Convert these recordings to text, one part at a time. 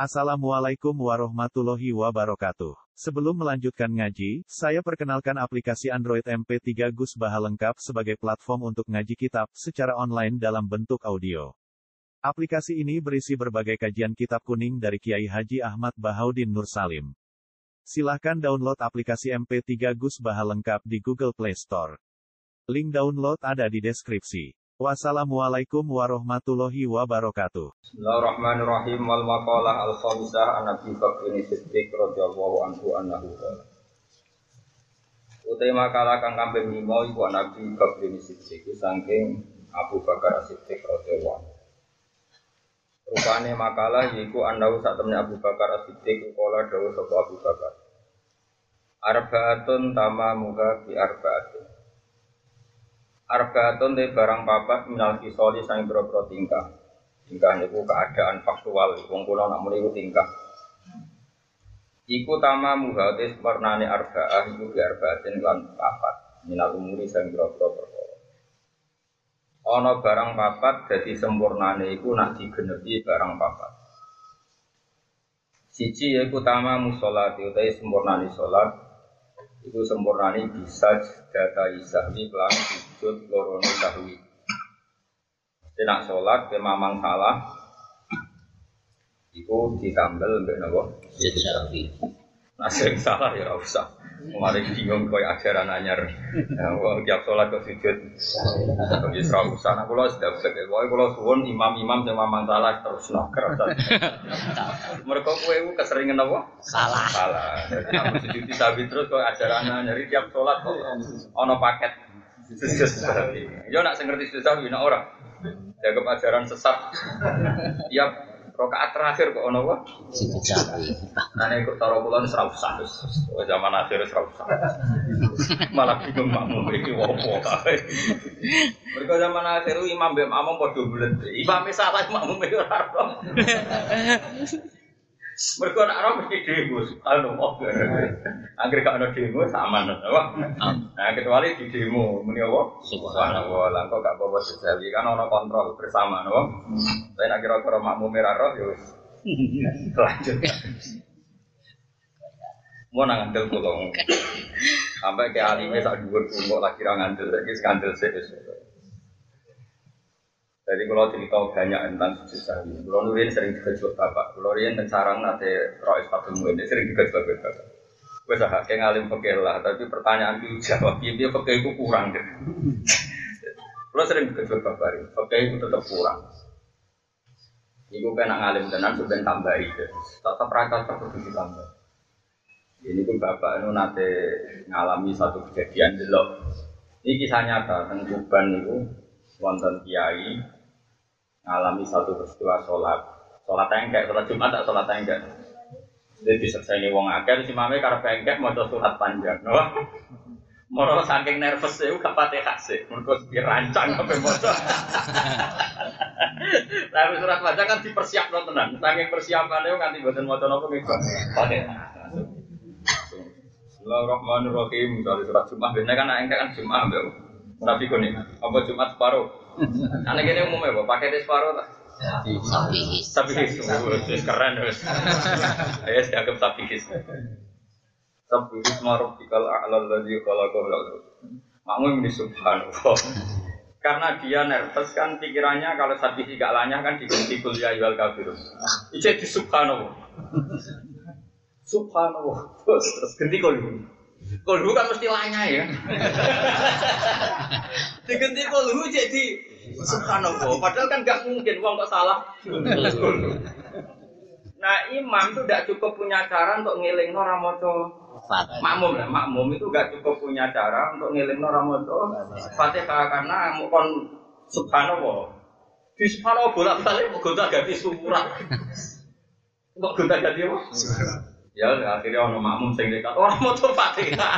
Assalamualaikum warahmatullahi wabarakatuh. Sebelum melanjutkan ngaji, saya perkenalkan aplikasi Android MP3 Gus Baha lengkap sebagai platform untuk ngaji kitab secara online dalam bentuk audio. Aplikasi ini berisi berbagai kajian kitab kuning dari Kiai Haji Ahmad Bahaudin Nur Salim. Silahkan download aplikasi MP3 Gus Baha lengkap di Google Play Store. Link download ada di deskripsi. Wassalamualaikum warahmatullahi wabarakatuh. Bismillahirrahmanirrahim. Wal maqalah al-khamisah an Abi Bakr Siddiq radhiyallahu anhu annahu qala. Utai makalah kang kambing lima iku Nabi Bakr Siddiq saking Abu Bakar Siddiq radhiyallahu anhu. Rupane makalah yaiku annahu sak temne Abu Bakar Siddiq qala dawuh sapa Abu Bakar. Arbaatun tamamuha bi arbaatin. Arbaatun te barang papat minal kisoli sang boro-boro tingkah. Tingkah niku keadaan faktual, wong kula nak muni iku tingkah. Iku tamamuha te warnane arbaah iku bi arbaatin lan papat minal umuri sang boro-boro perkara. Ana barang papat dadi sempurnane iku nak digenepi barang papat. Siji yaiku tamamu salat utahe sempurnane salat. Iku sempurnane bisa data isahwi kelan sujud lorone sahwi. Nek salat ke mamang salah iku ditambel mbek napa? Sahwi. Nek sing salah ya ora usah. Mari bingung koyo ajaran anyar. Wong tiap salat kok sujud. Wis ora usah. Nek kula sedap sekali. Pokoke kula suwun imam-imam sing mamang salah terusno kerasa. Mergo kowe iku keseringan apa? Salah. Nek sujud sahwi terus koyo ajaran anyar tiap salat kok ana paket sujud sahwi. Yo nek sing ngerti sujud sahwi nek ora. Jaga ajaran sesat. Tiap rakaat terakhir kok ono apa? Sujud sahwi. Nah nek kok cara kula wis ora usah wis. Zaman akhir wis ora usah. Malah bingung makmum iki opo kae. Mergo zaman akhir imam mbek makmum padha bulet. Imam salah makmum ora ora. Mergo nek ora mesti demo, subhanallah. Angger gak ono demo aman to, Pak. Nah, kecuali di demo muni apa? Subhanallah. Lah kok gak apa-apa sejawi kan ono kontrol bersama, no. Tapi nek kira-kira makmum ora roh ya wis. Lanjut. Mau nang ngandel kula. Sampai ke alime sak dhuwur kok lagi ra ngandel, iki skandal sik wis. Jadi kalau cerita banyak tentang sujud sahwi, kalau nurin sering dikejut bapak, kalau nurin tencarang nate rois patemu ini sering dikejut bapak. Gue sah kayak ngalim fakir lah, tapi pertanyaan itu jawab dia fakir itu kurang deh. Kalau sering dikejut bapak, fakir itu tetap kurang. Ibu kena ngalim tenan sudah tambah itu, tetap rata tetap ditambah. Ini pun bapak itu nate ngalami satu kejadian delok. Ini kisah nyata tentang Tuban itu. Wonten kiai ngalami satu peristiwa sholat tengkek, sholat Jumat tak sholat tengkek. Jadi diselesaikan wong akeh, si mame karep tengkek maca surat panjang, no? Moro saking nervous e gak pate kasih, mergo dirancang sampe maca. Tapi surat panjang kan dipersiapno tenan, saking persiapane nganti mboten maca napa nggih. Pate. Bismillahirrahmanirrahim. Dari surat Jumat bener kan tengkek kan Jumat mbak. Tapi kone, apa Jumat separuh? Anak ini umumnya apa? Pakai separuh tak? Sabihis, keren terus. Ayo siapkan sabihis. Sabihis maruf dikal a'lal ladzi khalaqahu. Makmum ini subhanallah. Karena dia nervous kan pikirannya kalau sabihis gak lanyah kan diganti kuliah yual kafirun. Itu di subhanallah. Subhanallah. Terus ganti kuliah. Kolhu kan mesti lanyah ya. Diganti kolhu jadi subhanallah. Padahal kan gak mungkin wong kok salah. Nah imam itu gak cukup punya cara untuk ngelingno ora maca makmum lah. Makmum itu gak cukup punya cara untuk ngelingno ora maca Fatihah karena kon subhanallah. Di subhanallah bolak-balik kok gonta-ganti surat. Kok gonta-ganti apa? Ya akhirnya ono makmum sing dekat ora maca Fatihah.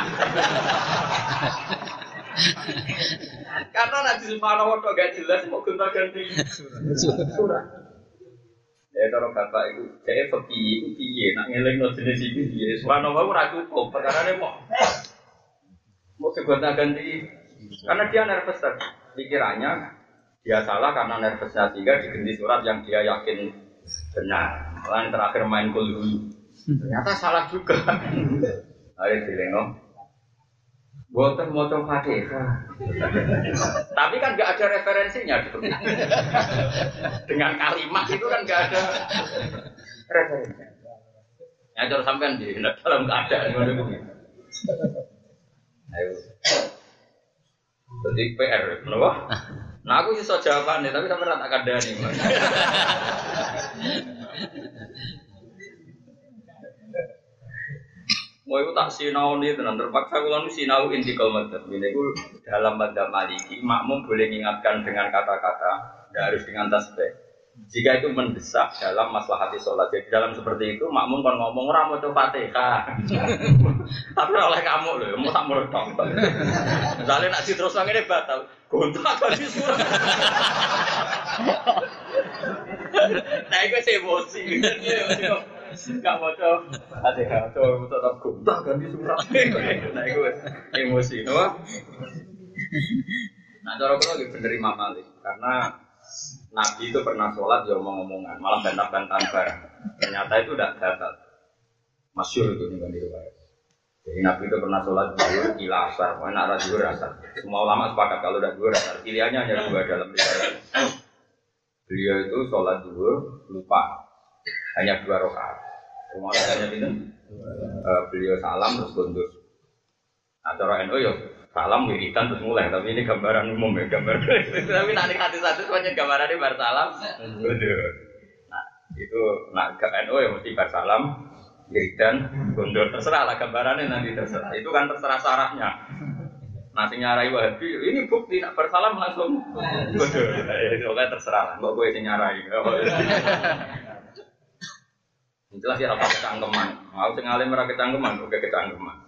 Karena nanti subhanallah kok gak jelas mau gonta-ganti surat. Ya kalau bapak itu saya pergi itu piye nak ngelingno jenis iki piye. Subhanallah ora cukup, perkarane mau gonta-ganti karena dia nervous tadi. Pikirannya dia salah karena nervousnya sehingga diganti surat yang dia yakin benar. Lan terakhir main kulhu. Ternyata salah juga. Ayo dileno. Boten maca Fatihah. Tapi kan enggak ada referensinya gitu. Dengan kalimat itu kan enggak ada referensinya. Ya cara sampean di dalam keadaan ngono kuwi. Ayo. Jadi PR, kenapa? Nah aku iso jawabannya, tapi sampean tak kandhani. Mau itu tak sinau nih, tenan terpaksa kalau nu sinau intikal madzhab. Ini itu dalam madzhab Maliki, makmum boleh mengingatkan dengan kata-kata, tidak harus dengan tasbih. Jika itu mendesak dalam maslahati sholat, jadi dalam seperti itu makmum kan ngomong orang mau coba Fatihah, tapi oleh kamu loh, mau tak meredok. Misalnya nak terus lagi ini batal, gontak kan di surat. Nah itu sih emosi. Enggak mau coba Fatihah, coba tetap gontak kan di surat. Nah itu emosi, no? Nah cara kalau lagi bener Imam Malik, karena Nabi itu pernah sholat ya omong-omongan, malah bantah-bantahan barang. Ternyata itu tidak batal. Masyhur itu nih riwayat. Jadi Nabi itu pernah sholat zuhur ila asar, mana arah zuhur asar. Semua ulama sepakat kalau udah zuhur asar. Pilihannya hanya dua dalam riwayat. Beliau itu sholat zuhur lupa, hanya 2 rakaat. Semua hanya itu. Beliau salam terus kundur. Nah cara NU ya salam wiridan terus mulai, tapi ini gambaran umum ya, gambar. Tapi nanti hati-hati semuanya gambaran ini bar salam. Nah, itu nak NU ya mesti bar salam, wiridan, gondor terserah lah gambarannya nanti terserah. Itu kan terserah sarahnya. Nah, sing nyarai Wahabi, ini bukti nak bar salam langsung gondor. Itu kan terserah lah, mbok kowe sing nyarai. Jelas ya apa kecangkeman. Mau sing alim ora kecangkeman, oke kecangkeman.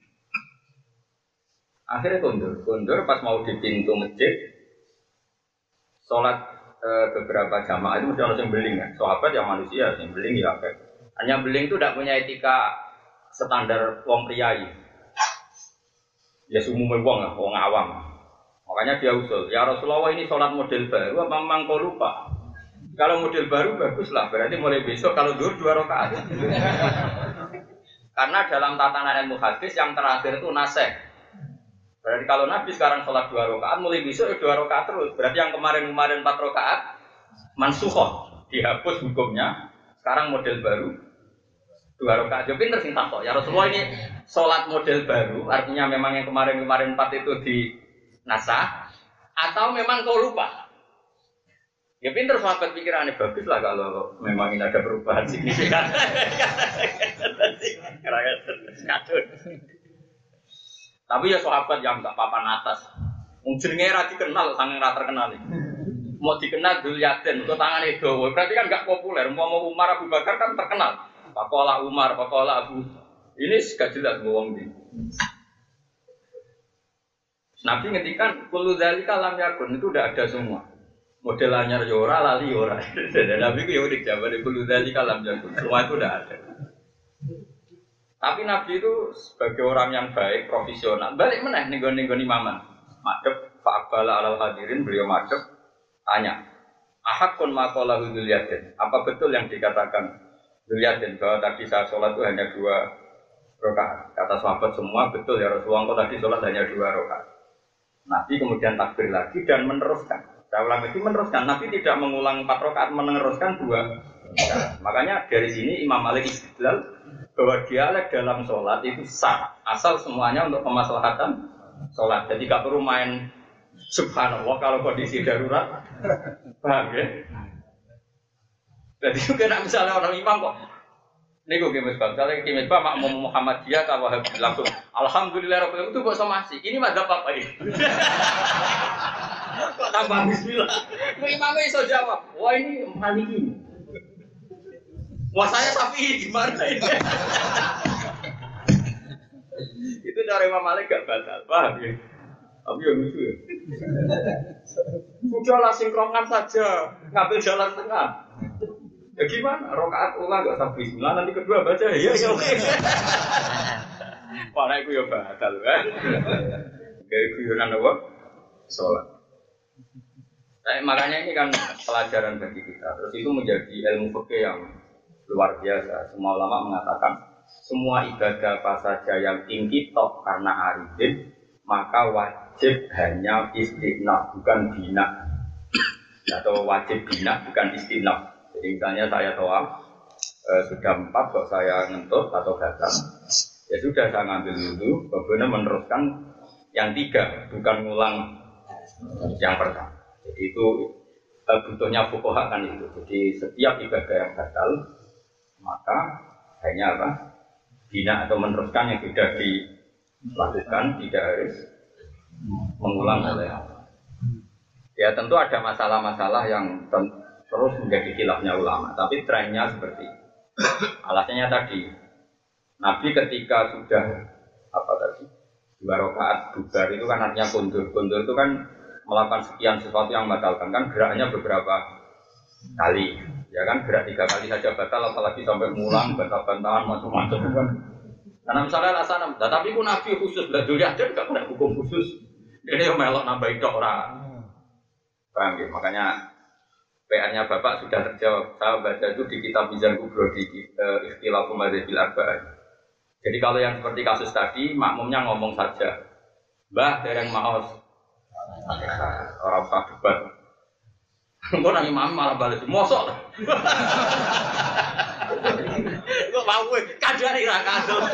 Akhirnya kondur pas mau di pintu masjid, sholat beberapa jamaah itu mesti harus yang beling kan. Sahabat yang manusia, yang beling ya apa? Hanya beling itu tidak punya etika standar wong priayi. Ya umumnya wong awam. Makanya dia usul, ya Rasulullah ini sholat model baru, apa memang kau lupa? Kalau model baru baguslah, berarti mulai besok kalau 2 rakaat. Karena dalam tatanan ilmu hadis yang terakhir itu nasih. Berarti kalau Nabi sekarang sholat 2 rakaat, mulai besok 2 rakaat terus. Berarti yang kemarin 4 rakaat mansukhoh, dihapus hukumnya. Sekarang model baru 2 rakaat. Jadi pinter sing takok. Ya Rasulullah ini sholat model baru, artinya memang yang kemarin 4 itu di nasah, atau memang kau lupa? Ya pinter sahabat pikirannya bagus lah kalau memang ini ada perubahan signifikan. Tapi ya sahabat yang enggak papan atas. Wong jenenge ra dikenal sange ra terkenal. Mau dikenal Dzulyaden kok tangane dawa. Berarti kan enggak populer. Umpama Umar Abu Bakar kan terkenal. Pakola Umar, pakola Abu. Ini gak jelas wong iki. Nabi ngendikan kullu dzalika lam yakun itu udah ada semua. Model anyar yo ora lali ora. Nabi ku yo udah jawab kullu dzalika lam yakun. Semua itu udah ada. Tapi Nabi itu sebagai orang yang baik, profesional, balik meneh ning-nggone imaman. Madhep fa'abala alal hadirin, beliau madhep tanya, ahakun maqalahu Dzulyaden. Apa betul yang dikatakan Dzulyaden bahwa tadi saya sholat itu hanya 2 rakaat? Kata sahabat semua betul ya Rasulullah, kok tadi sholat hanya 2 rakaat. Nabi kemudian takbir lagi dan meneruskan. Saya ulang itu meneruskan. Nabi tidak mengulang 4 rakaat, meneruskan 2 rakaat. Makanya dari sini Imam Malik istidlal bahwa dialek dalam sholat itu sah, asal semuanya untuk kemaslahatan sholat. Jadi gak perlu main subhanallah kalau kondisi darurat, paham ya? Jadi juga nak misalnya orang imam kok, ini gue kimis bang, misalnya kimis bang makmum Muhammadiyah kalau langsung alhamdulillah rabbil itu kok somasi, ini madzhab apa ini? Kok tambah bismillah? Imamnya iso jawab, wah ini Maliki. Wah saya sapi gimana ini? Itu cara Imam Malik gak batal, paham ya? Tapi yang lucu ya. Sudahlah sinkronkan saja, ngambil jalan tengah. Ya gimana? Rakaat ulang gak sampai 9, nanti kedua baca ya oke. Wah itu ya batal kan? Kayak guyonan apa? Sholat. Makanya ini kan pelajaran bagi kita. Terus itu menjadi ilmu fikih yang luar biasa. Semua ulama mengatakan semua ibadah apa saja yang ingkitok karena aridin maka wajib hanya istinaf bukan bina, atau wajib bina bukan istinaf. Jadi misalnya saya toa sudah 4 kok saya ngentut atau gatal, ya sudah saya ngambil dulu, kemudian meneruskan yang 3 bukan ngulang yang pertama. Jadi itu butuhnya fuqaha kan itu. Jadi setiap ibadah yang batal maka hanya apa? Bina atau meneruskan yang sudah dilakukan, tidak harus mengulang oleh Allah. Ya tentu ada masalah-masalah yang terus menjadi khilafnya ulama, tapi trennya seperti itu. Alasannya tadi Nabi ketika sudah apa tadi 2 rakaat bubar itu kan artinya kundur. Kundur itu kan melakukan sekian sesuatu yang membatalkan, kan geraknya beberapa kali, ya kan gerak 3 kali saja batal, apalagi sampai mulang, bantah-bantahan macam-macam kan. Karena misalnya alasan, tapi ku Nabi khusus, lah dulu ada nggak pernah hukum khusus. Ini yang melok nambah itu orang. Paham ya? Makanya PR-nya Bapak sudah terjawab. Saya baca itu di kitab Mizan Kubro di Ikhtilaful Madzhabil Arba'ah. Jadi kalau yang seperti kasus tadi, makmumnya ngomong saja, Mbah dereng maos, orang usah debat. Kok nang imam malah bales, mosok. Kok mau kadari ra kadul.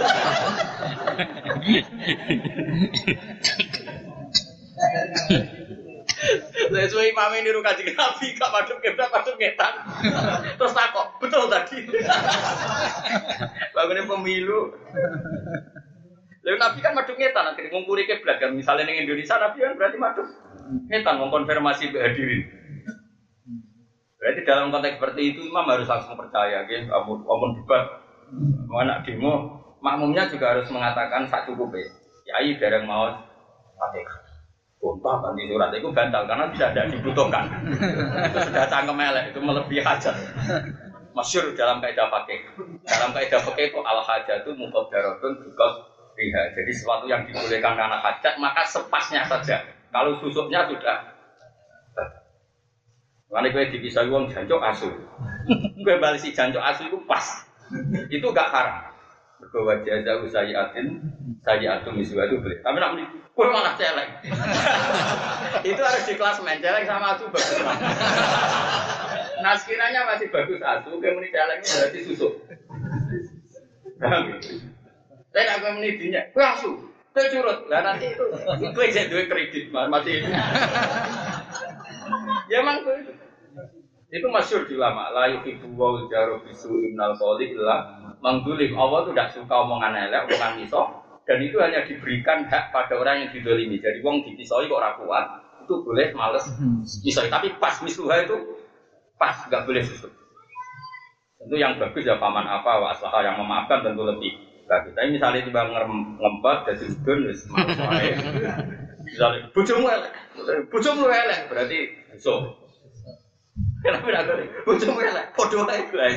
Sesuai imam ini niru Kanjeng Nabi, gak madhep kiblat, madhep ngetan. Terus takok, betul tadi. Bangunnya pemilu. Lalu Nabi kan madhep ngetan, nanti ngungkuri kiblat kan. Misalnya di Indonesia, Nabi kan berarti madhep ngetan, mengkonfirmasi hadirin. Berarti dalam konteks seperti itu, imam harus langsung percaya. Amun debat, anak demo, makmumnya juga harus mengatakan sak cukup ya. Yai dereng maos Fatihah. Bontah kan di surat itu bantal karena tidak dibutuhkan. Itu sudah cangkem elek, itu melebihi hajat. Masyhur dalam kaidah fikih. Dalam kaidah fikih itu al hajatu muqaddaratun because riha. Jadi sesuatu yang dibolehkan karena hajat maka sepasnya saja. Kalau susuknya sudah. Karena gue dipisah uang jancok asu. Gue balik si jancok asu itu pas. Itu gak haram. Berkuat jaza usayatin, sayatun miswa itu boleh. Tapi nak menipu, gue malah celeng. Itu harus di kelas main celeng sama asu bagus. Nah sekiranya masih bagus asu, kemudian celengnya berarti susuk. Saya nak gue menipunya, gue asu, gue curut. Nah nanti itu, gue jadi duit kredit masih. Ya emang gue itu masyhur di ulama. La yuhibbu wa jaru bisu innal qawli illa mangdulim. Allah itu tidak suka omongan elek, omongan misok, dan itu hanya diberikan hak pada orang yang didolimi. Jadi wong dipisoi kok ora kuat, itu boleh males misoi. Tapi pas misluha itu pas, nggak boleh susut. Tentu yang bagus ya paman apa, wa aslaha yang memaafkan tentu lebih bagus. Tapi misalnya tiba ngempat jadi udun, wis males wae. Misalnya bojomu elek, berarti susut. Kenapa tidak boleh? Bojomu elek, podo wae bae.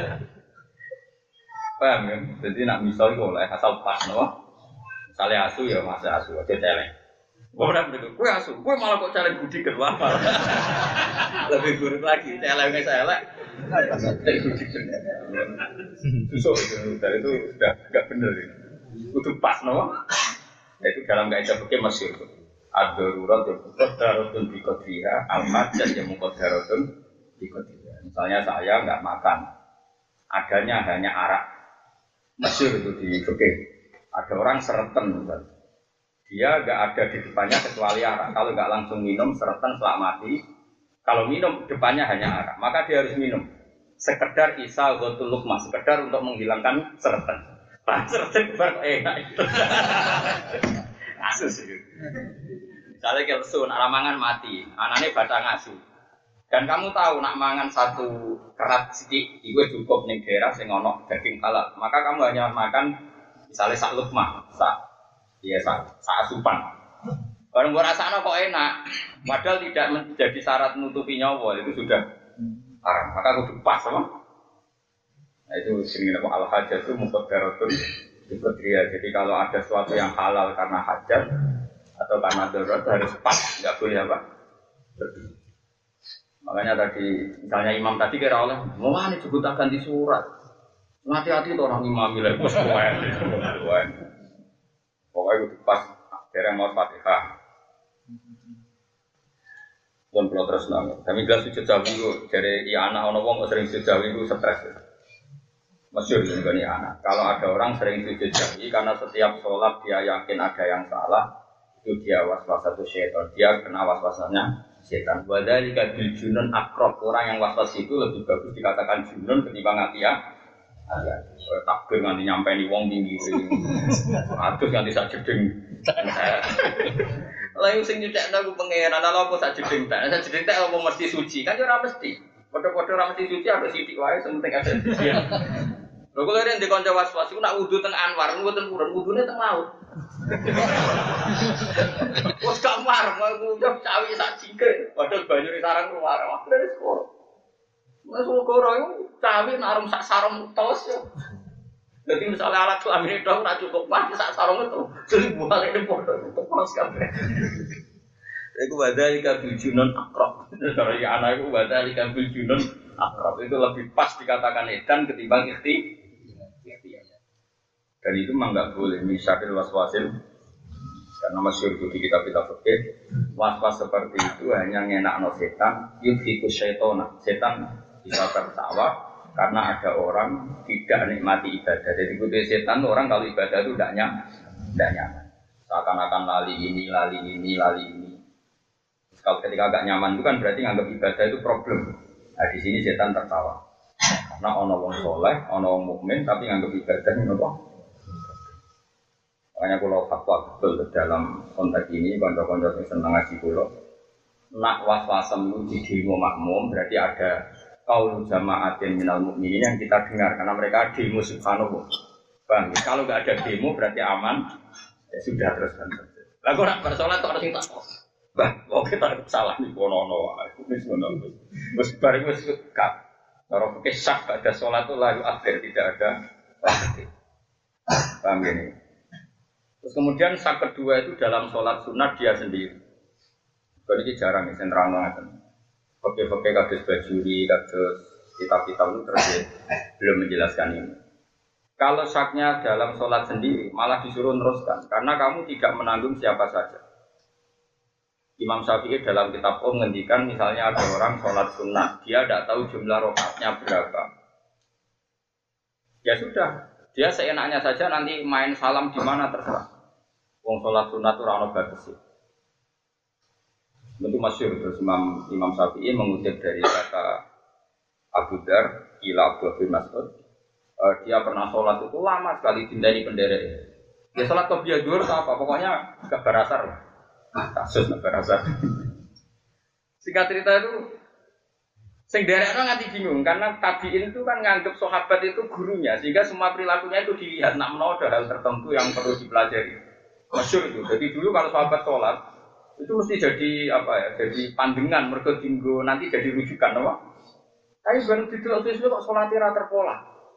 Paham kan? Jadi nak misal itu oleh asal pas, no? Misalnya asu ya masa asu, aja celeng. Orang begitu, kue asu, kue malah kok celeng budi kedua apa? Lebih buruk lagi, celengnya saya elek. Celeng budi kedua. Susuk itu, dari itu sudah nggak benar. Itu pas, no? Itu dalam kaidah fikih masyhur. Ad-darurat yang muqaddaratun bi qadriha, al-majaz yang muqaddaratun bi qadriha. Misalnya saya nggak makan, adanya hanya arak. Masyhur itu di fikih. Ada orang sereten, misalnya. Dia nggak ada di depannya kecuali arak. Kalau nggak langsung minum, sereten selak mati. Kalau minum depannya hanya arak, maka dia harus minum. Sekedar isa ghatul luqmah, sekedar untuk menghilangkan sereten. Pak sereten baru enak itu. Kasus itu. Misalnya kelsu, nak mangan mati, anaknya batang asu. Dan kamu tahu nak mangan satu kerat sedikit, itu cukup nih daerah sing ono daging halal. Maka kamu hanya makan misalnya sak lukmah, sak asupan. Barang gua rasanya kok enak, padahal tidak menjadi syarat menutupi nyawa, itu sudah haram. Maka kudu pas sama. Nah itu sini nama al-hajat itu muqaddaratun bi qadriha. Jadi kalau ada sesuatu yang halal karena hajat atau karena darurat harus pas, nggak boleh apa? Makanya tadi, misalnya imam tadi kira oleh, wah ini juga tak ganti surat. Hati-hati tuh orang imam lah, bos kowe. Pokoknya itu pas dereng mau Fatihah. Pun kalau terus nangis. Kami jelas sujud jauh itu dari anak orang wong sering sujud jauh itu stres. Masyhur ini kan anak. Kalau ada orang sering sujud jauh karena setiap sholat dia yakin ada yang salah, itu dia waswas satu syaitan. Dia kena waswasanya setan. Wadzalika bil junun akrab. Orang yang waswas itu lebih bagus dikatakan junun ketimbang atia. Takbir nganti nyampe ni wong tinggi. Atus nganti sak jeding. Lah yang sing nyucekno ku pangeran ala apa sak jeding tak. Sak jeding tak apa mesti suci. Kan yo ora mesti. Padha-padha ora mesti suci ada sithik wae sing penting ada suci. Lho kok leren di kanca was-was iku nak wudu teng Anwar, mboten purun wudune teng laut. Wes gak mar, aku udah cawi sak jingke. Padahal banyu di sarang keluar. Wah, wis kok. Wes kok ora yo cawi narum sak sarung tos yo. Jadi misalnya alat kelamin itu ora cukup mati sak sarung itu. Jadi bualene padha tos kabeh. Iku wadhalika bil junun akrab. Dari anak iku wadhalika bil junun akrab itu lebih pas dikatakan edan ketimbang ikhti. Dan itu memang nggak boleh misalkan waswasil karena masyhur di kitab-kitab fikih waswas seperti itu hanya ngenakno setan yudhiku syaitona setan bisa tertawa karena ada orang tidak nikmati ibadah. Jadi itu setan orang kalau ibadah itu tidak nyaman seakan-akan lali ini kalau ketika agak nyaman itu kan berarti nganggap ibadah itu problem. Nah di sini setan tertawa karena ono wong soleh, ono wong mukmin tapi nganggap ibadah ini apa? Makanya kalau fatwa betul dalam konteks ini konco-konco yang senang ngaji kulo nak was-wasem itu di demo makmum berarti ada qaul jama'atin minal mukminin yang kita dengar karena mereka demo subhanahu. Bang, kalau nggak ada demo berarti aman ya sudah terus kan. Lah kok nak bersolat kok harus takut. Bah, kok kita salah nih kono-kono wae. Wis bareng wis kak. Kalau pakai syak ada sholat itu lalu akhir tidak ada waktu. Paham ini? Terus kemudian syak kedua itu dalam sholat sunat dia sendiri. Kalau ini jarang ya, sentrang banget. Pakai kados bajuri, kados kitab-kitab itu terus belum menjelaskan ini. Kalau syaknya dalam sholat sendiri malah disuruh teruskan karena kamu tidak menanggung siapa saja. Imam Syafi'i dalam kitab menghentikan misalnya ada orang sholat sunnah, dia tidak tahu jumlah rakaatnya berapa. Ya sudah, dia seenaknya saja nanti main salam di mana terserah. Wong sholat sunnah itu rano bagus sih. Tentu masyhur terus Imam Syafi'i mengutip dari kata Abu Dar, ila Abu Mas'ud. Dia pernah sholat itu lama sekali dindani penderek. Dia sholat qobliyah zuhur apa? Pokoknya gak berasar. Kasus nak berasa. Singkat cerita itu, sing derekno nganti bingung karena tabiin itu kan nganggep sahabat itu gurunya, sehingga semua perilakunya itu dilihat. Nak menawa ada hal tertentu yang perlu dipelajari. Masyhur itu. Jadi dulu kalau sahabat sholat itu mesti jadi apa ya? Jadi pandangan mergo dinggo nanti jadi rujukan, apa? Tapi baru didelok sesuk kok sholatnya ra terpola.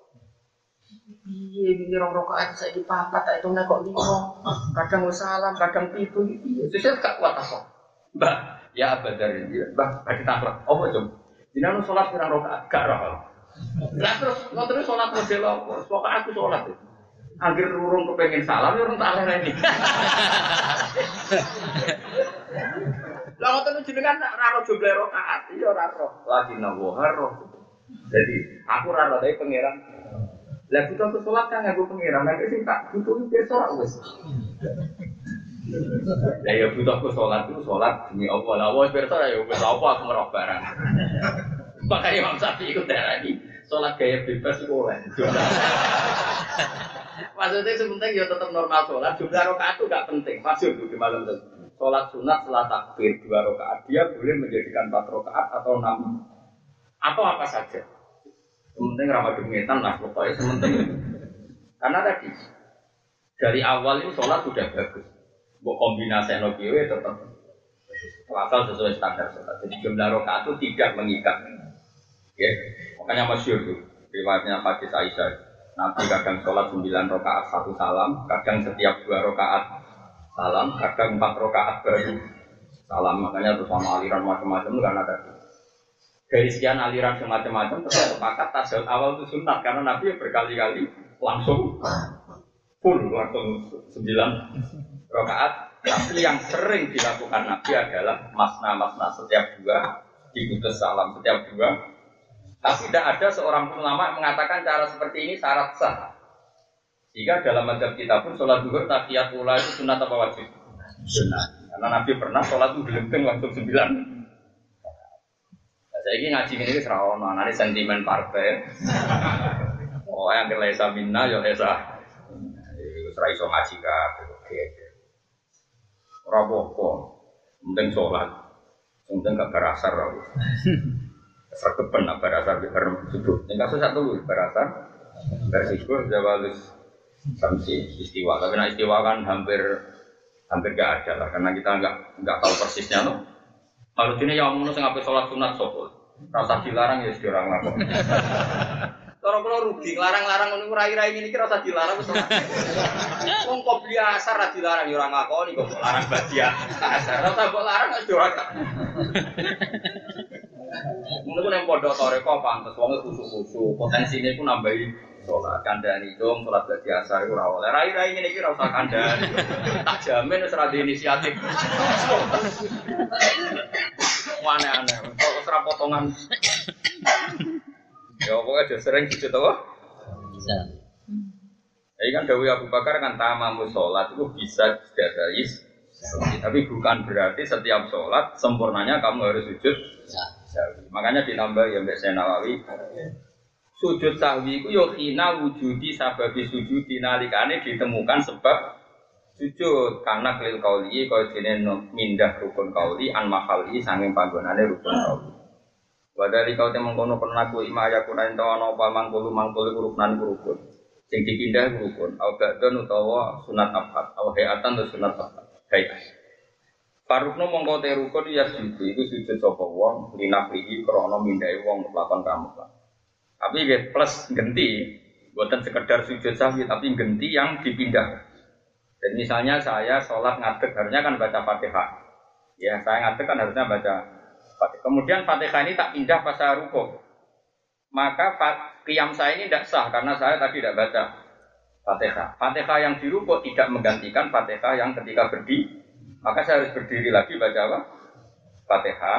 Iya, ini rong rakaat saya di papat, tak hitungnya kok 5. Kadang salam, kadang 7. Iya, saya gak kuat apa. Mbak, ya abadar ini, mbak, bagi taklak. Apa jom? Jadi aku sholat pirang rakaat, gak roh. Lah terus sholat model apa? Pokoknya aku sholat itu. Akhir urung kepengen salam, urung tak lereni. Lah ngoten jenengan ra jumlah rakaat, iya ora roh. Lagi nawohar roh. Jadi aku ra roh tapi pangeran. Lah butuh aku sholat kan aku pengiran, nanti sih tak butuh besok wes. Lah ya butuh aku sholat itu sholat demi Allah. Lah wes besok ya wes apa aku ngerok barang. Makanya Imam Syafi'i ikut darah ini sholat gaya bebas itu oleh. Maksudnya sebentar ya tetap normal sholat. Jumlah rakaat itu gak penting. Masyhur di malam itu. Sholat sunat setelah takbir 2 rakaat dia boleh menjadikan 4 rakaat atau 6 atau apa saja. Sementing ramah demikian lah pokoknya sementing. Karena tadi dari awal ini sholat sudah bagus. Buat kombinasi nokiwe tetap asal sesuai standar sholat. Jadi jumlah rakaat itu tidak mengikat. Ya, makanya masyhur tuh riwayatnya hadis Aisyah. Nabi kadang sholat 9 rakaat 1 salam, kadang setiap 2 rakaat salam, kadang 4 rakaat baru salam. Makanya terus sama aliran macam-macam itu karena tadi. dari sekian aliran semacam-macam terus sepakat tasawuf awal itu sunat karena Nabi berkali-kali langsung full langsung 9 rakaat. Tapi yang sering dilakukan Nabi adalah masna setiap 2 diputus salam setiap 2. Tapi tidak ada seorang pun ulama mengatakan cara seperti ini syarat sah. Jika dalam mazhab kita pun sholat zuhur tahiyat ula itu sunat apa wajib? Sunat. Karena Nabi pernah sholat itu gelembeng langsung 9. Saya ini ngaji ini serawono, nanti sentimen partai. Oh yang kelesa minna ya kelesa. Serai so ngaji kah? Rapopo, penting sholat, penting gak berasar aku. Serkepen nak berasar di harum subuh. Yang kasus satu berasar, bersikuh jawalus samsi istiwa. Tapi nak istiwa kan hampir gak ada lah, karena kita nggak tahu persisnya loh. Kalau ini yang ngomong ngapain sholat sunat sopul, rasa dilarang ya orang lakon. Kalau rugi, larang-larang menunggu rai-rai ini kira rasa dilarang betul. Wong kok biasa ra dilarang ya ora ngakoni kok larang badia. Asar rasa kok larang wis ora. Mungkin yang pondok toreko pantes wong khusus-khusus, potensine ku nambahi salat kandhani dong salat badia asar iku ora oleh. Rai-rai ngene iki ora usah kandhani. Tak jamin wis ora di inisiatif. Aneh-aneh, kok ora potongan. Ya pokoknya ada sering sujud apa? Bisa. Ini kan Dawi Abu Bakar kan tamamu sholat itu bisa dari tapi bukan berarti setiap sholat sempurnanya kamu harus sujud sahwi. Makanya ditambah ya Mbak Nawawi sujud sahwi itu yohina wujudi sababi sujudi nalikane ditemukan sebab sujud karena kelil kauli kau jenis mindah rukun kauli an mahali sanging panggonane rukun kauli. Wadali kau temang kono penaku ima ayakunan tawana apa mangkulu ruknan rukun. Sing dipindah rukun. Au ba'dun utawa sunat abad. Au hayatan atau sunat abad. Baik. Parukno mongko te rukun ya sujud iku sujud sapa wong linaflihi krana mindhae wong lakon kamu. Tapi nggih plus genti, bukan sekedar sujud sahwi tapi genti yang dipindah. Jadi misalnya saya sholat ngadeg harusnya kan baca Fatihah. Ya, saya ngadeg kan harusnya baca kemudian Fatihah ini tak pindah pas saya rukuk, maka qiyam saya ini tidak sah karena saya tadi tidak baca Fatihah. Fatihah yang dirukuk tidak menggantikan Fatihah yang ketika berdiri, maka saya harus berdiri lagi baca apa? Fatihah.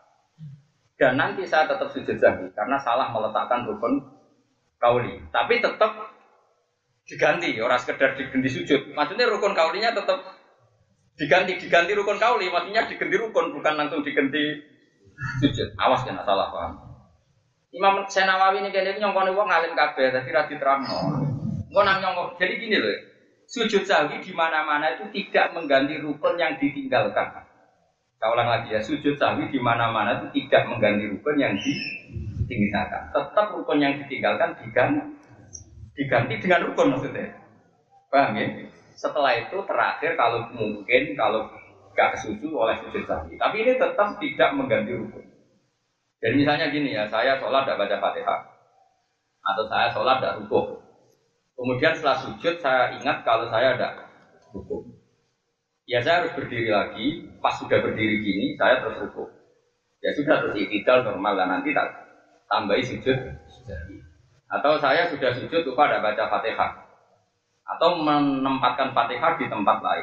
Dan nanti saya tetap sujud sahwi karena salah meletakkan rukun kauli. Tapi tetap diganti, orang sekedar diganti sujud. Maksudnya rukun kaulinya tetap diganti rukun kauli, maksudnya diganti rukun bukan langsung diganti sujud. Awas kena salah paham. Imam Nawawi ini kene nyongkone wong ngalim kabeh dadi ra diterangno. Engko nang nyongkon. Jadi gini loh. Sujud sahwi di mana-mana itu tidak mengganti rukun yang ditinggalkan. Saya ulang lagi ya, sujud sahwi di mana-mana itu tidak mengganti rukun yang ditinggalkan. Tetap rukun yang ditinggalkan diganti dengan rukun maksudnya. Paham ya? Setelah itu terakhir kalau mungkin kalau gak kesusu oleh sujud sahwi. Tapi ini tetap tidak mengganti rukun. Jadi misalnya gini ya, saya sholat tidak baca Fatihah, atau saya sholat tidak rukuk. Kemudian setelah sujud saya ingat kalau saya tidak rukuk. Ya saya harus berdiri lagi. Pas sudah berdiri gini, saya terus rukuk. Ya sudah terus i'tidal normal dan nanti tak tambahi sujud. Atau saya sudah sujud lupa tidak baca Fatihah, atau menempatkan Fatihah di tempat lain.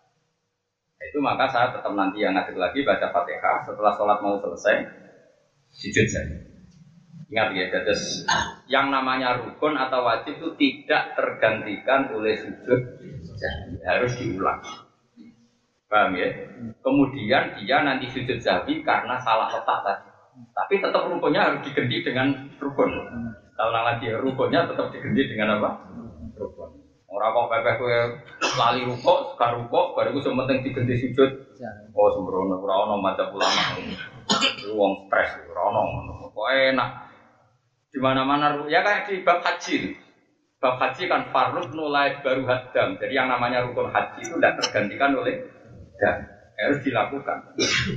Itu maka saya tetap nanti yang ngadeg lagi baca Fatihah setelah sholat mau selesai sujud saja. Ingat ya, terus yang namanya rukun atau wajib itu tidak tergantikan oleh sujud, harus diulang. Paham ya? Kemudian dia nanti sujud sahwi karena salah letak tadi. Tapi tetap rukunnya harus diganti dengan rukun. Kalau lagi rukunnya tetap diganti dengan apa? Rukun. Orang kok pepeh kowe lali rukuk, sekarang rukuk, baru itu penting diganti sujud. Oh sembrono, ora ono madzhab ulama. Wong stres, ora ono. Kok enak. Di mana-mana ya kayak di bab haji. Bab haji kan farruk nulai baru hadam. Jadi yang namanya rukun haji itu tidak tergantikan oleh dan harus dilakukan.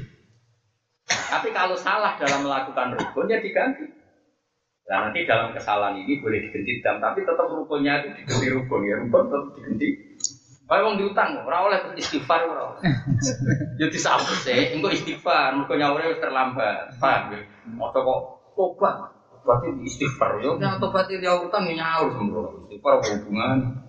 Tapi kalau salah dalam melakukan rukun ya diganti. Nah nanti dalam kesalahan ini boleh diganti dam, tapi tetap rukunnya itu diganti rukun ya, rukun tetap diganti. Kayak wong diutang, ora oleh istighfar ora. Yo disawise, engko istighfar, mergo nyaure wis terlambat. Paham ya? Moto kok tobat. Berarti istighfar yo nek tobat dia utang nyaur sembrono. Istighfar hubungan.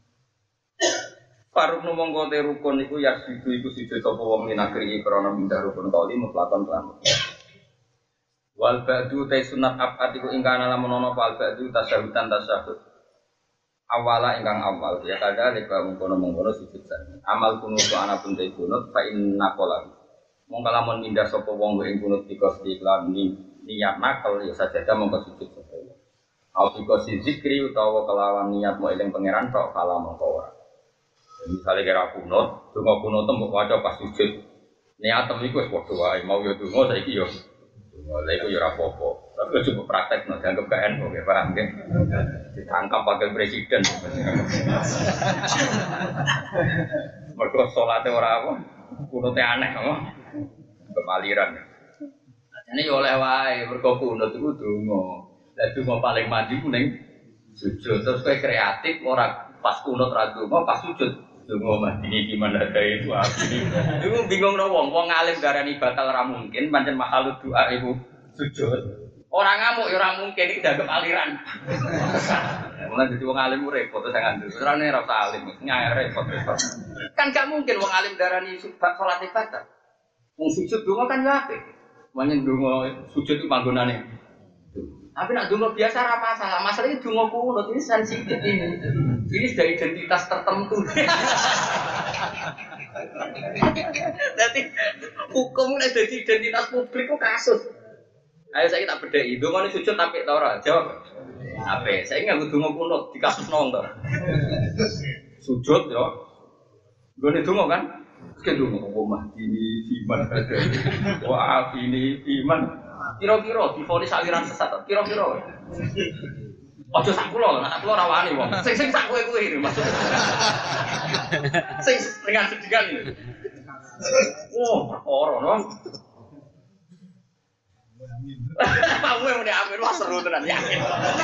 Faruk mongko te rukun iku ya iku siji sapa wong minagri krana mindah rukun kali mutlakon lan. Wal ba'du ta sunat abad iku ingkang lamun ana wal ba'du tasawutan tasawuf. Awala ingkang awal ya kada leka mengkono sujud san. Amal kunut ana pun te kunut fa inna qala. Mongko lamun mindah sapa wong ing kunut dikos iklan niat nakal ya sajadah mongko sujud sapa. Au dikos zikri utawa kelawan niat mau eling pangeran tok kala mongko ora. Misale kira kunut, donga kunut mbok waca pas sujud. Niatem iku wis padha wae, mau yo donga saiki yo. Lha iku yo ora apa-apa. Tapi coba praktek no, dianggap KN oke, paham kan? Ditangkap wakil presiden. Mereka sholatnya orang apa? Kunutnya aneh, apa? Kepaliran. Ini oleh wae, mereka kunut itu dungo. Dan dungo paling mandi kuning sujud. Terus kayak kreatif, orang pas kunut radungo, pas sujud. Dungo mandi gimana ada itu? Itu bingung no, wong ngalim darani batal ramungkin, pancen makhluk doa ibu sujud. Orang ngamuk ya orang mungkin ini dianggap aliran. Mulai jadi wong alim repot terus ngandel. Orangnya rasa alim, nyayar repot. Kan gak mungkin wong alim darani sholat ibadah. Wong sujud donga kan ya apik. Manyen donga sujud itu panggonane. Tapi nak donga biasa ora masalah. Masalahnya donga kunut ini sensitif ini. Ini sudah identitas tertentu. Jadi hukum nek dadi identitas publik kok kasus. Ayo saya tak bedheki, ndongane sujud apik ta ora? Jawab. Apik. Saya enggak kudu kunut di kasus nong to. Sujud yo. Gone donga kan? Sing donga omah ini iman ada. Wah, ini iman. Kira-kira divonis aliran sesat. Kira-kira. Aja sak kula, nek kula ora wani wong. Sing sak kowe iki maksud. Sing dengan sedikan ini. Oh, perkara no. Kamu yang udah ambil wah seru tenan yakin.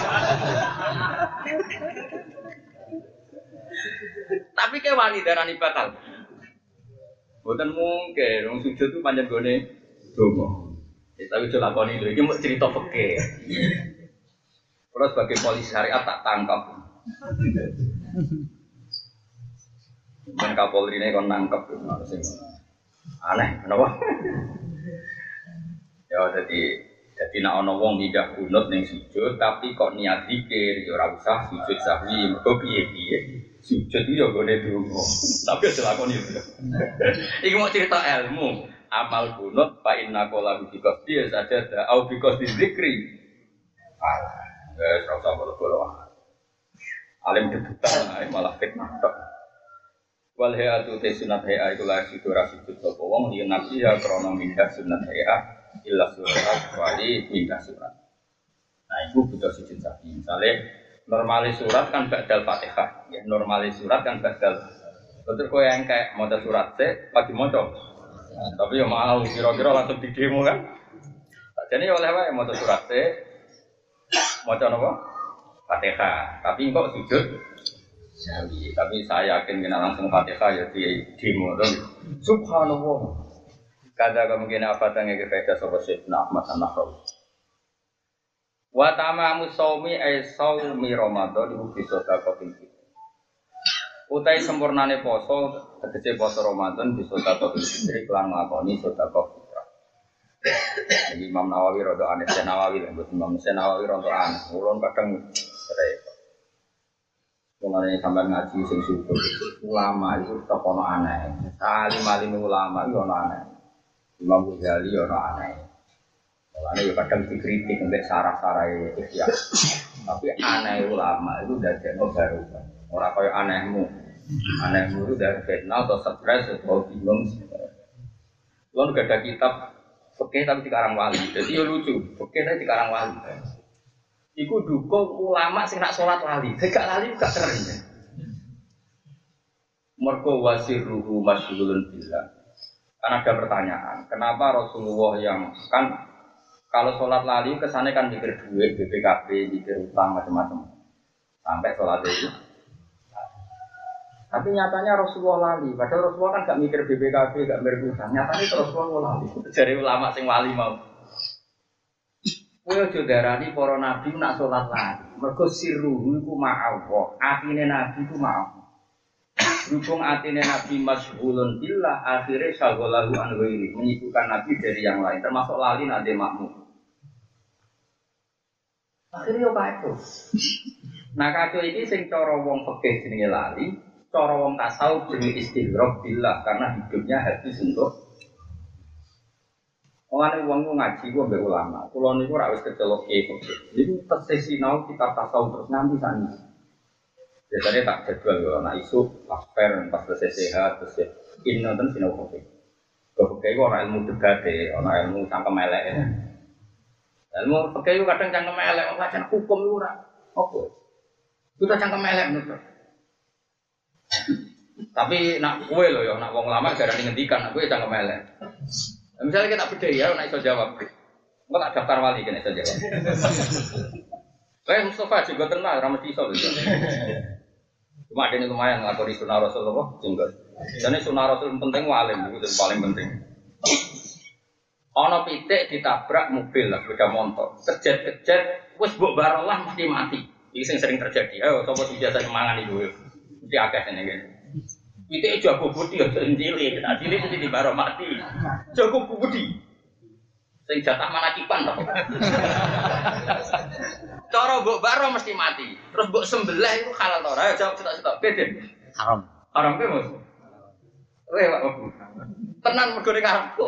Tapi kayak wani darani batal. Bukan mungkin, orang sujud itu panjang gone dongo. Tapi coba lakoni dulu, ini mau cerita fikih. Kalau sebagai polisi syariat tak tangkap. Dan Kapolri ini kon nangkep, aneh, kenapa? Ya jadi nak ono wong pindah kunut ning sujud tapi kok niat zikir ya ora usah sujud sahwi mergo piye-piye sujud itu ya gone donga tapi aja lakoni itu. Iki mau cerita ilmu amal kunut fa inna qala bi qasdi saja au bi qasdi zikri. Wes ora usah bolo-bolo. Alim debutan malah fitnah tok. Wal hayatu te sunat haya iku la sujud ra sujud sapa wong yen nabi ya krana mindah sunat haya illa surat wali minta surat. Nah itu butuh sujud sapi. Misalnya normalis surat kan badal fatihah. Ya normalis surat kan badal. Betul kau yang kayak mau surat se pagi moco. Nah, tapi ya mau kira-kira langsung di demo kan. Jadi oleh apa mau surat se moco nopo fatihah. Tapi kok sujud sapi. Tapi saya yakin kena langsung fatihah ya di demo dong. Subhanallah. Kada kemungkinan apa tangga kefaedah sobat Syedna Ahmad An-Nahrawi. Wa tamamu shaumi ay shaumi Ramadan iku bisa takotin. Utai sempurnane poso tegese poso Ramadan bisa takotin fitri kelan nglakoni sedekah fitrah. Jadi Imam Nawawi rada aneh, Nawawi lho Imam Nawawi rada aneh. Ulun kadang repot. Mulane sampean ngaji sing syukur. Ulama itu tetep ono aneh. Alim-alim ulama itu ono aneh. Imam Ghazali ono aneh. Mulane yo kadang dikritik nek sarah-sarahe ikhya. Tapi aneh ulama itu dadekno baru. Ora kaya anehmu. Anehmu itu dari fitnah atau stres atau bingung. Lalu gak ada kitab fikih tapi dikarang wali. Jadi yo lucu, fikih tapi dikarang wali. Iku dukung ulama sing nak salat lali. Gak lali gak keren. Mergo wasiruhu masyghulun billah. Kan ada pertanyaan, kenapa Rasulullah yang kan kalau sholat lali kesannya kan mikir duit, BPKB, mikir utang macam-macam sampai sholat itu. Tapi nyatanya Rasulullah lali. Padahal Rasulullah kan gak mikir BPKB, gak mikir utang. Nyatanya Rasulullah lali. Dari ulama sing wali mau. Kowe aja darani para nabi nak salat lali. Mergo sirruhu iku ma'allah. Atine nabi iku ma'allah. Berhubung atine nabi masyghulun billah, akhirnya syaghalahu an ghairi, menyibukkan nabi dari yang lain, termasuk lali nanti makmum. Akhirnya yo kacau. Nah kacau ini sing cara wong fikih jenenge lali, cara wong tasawuf jenenge istighraq billah karena hidupnya habis untuk orang wong ngaji ku mbek ulama. Kulo niku ora wis kecelok kiai fikih. Niku tesih sinau kitab tasawuf terus nganti sani. Biasanya tak jadwal yo anak isu pas per pas selesai sehat terus inno ten sinau fikih. Fikih ku ora ilmu debat ora ilmu cangkem elek. Ilmu fikih ku kadang cangkem elek, wacana hukum iku ora apa. Kita cangkem elek ngono. Tapi nak kowe lho ya nak wong lama garane ngendikan nak kowe cangkem elek. Misalnya kita beda ya, nak iso jawab. Engko tak daftar wali kene iso jawab. Mustafa juga tenang, ra mesti iso lho. Cuma ada lumayan nglakoni sunah Rasul apa jenggot. Jane sunah Rasul penting walim itu paling penting. Ana pitik ditabrak mobil lah sepeda motor. Kejet-kejet wis mbok barolah mesti mati. Iki sing sering terjadi. Ayo sapa sing biasa mangan iku. Mesti akeh ngene. Pitik jago budi aja cilik. Nah cilik mesti dibaro mati. Jago budi. Sing jatah manakipan to. Cara mbok baro mesti mati. Terus mbok sembelih iku halal to ora? Ayo jawab cetok-cetok. Beden. Haram. Haram ke, Mas? Pak. Tenan mergo ning karepku.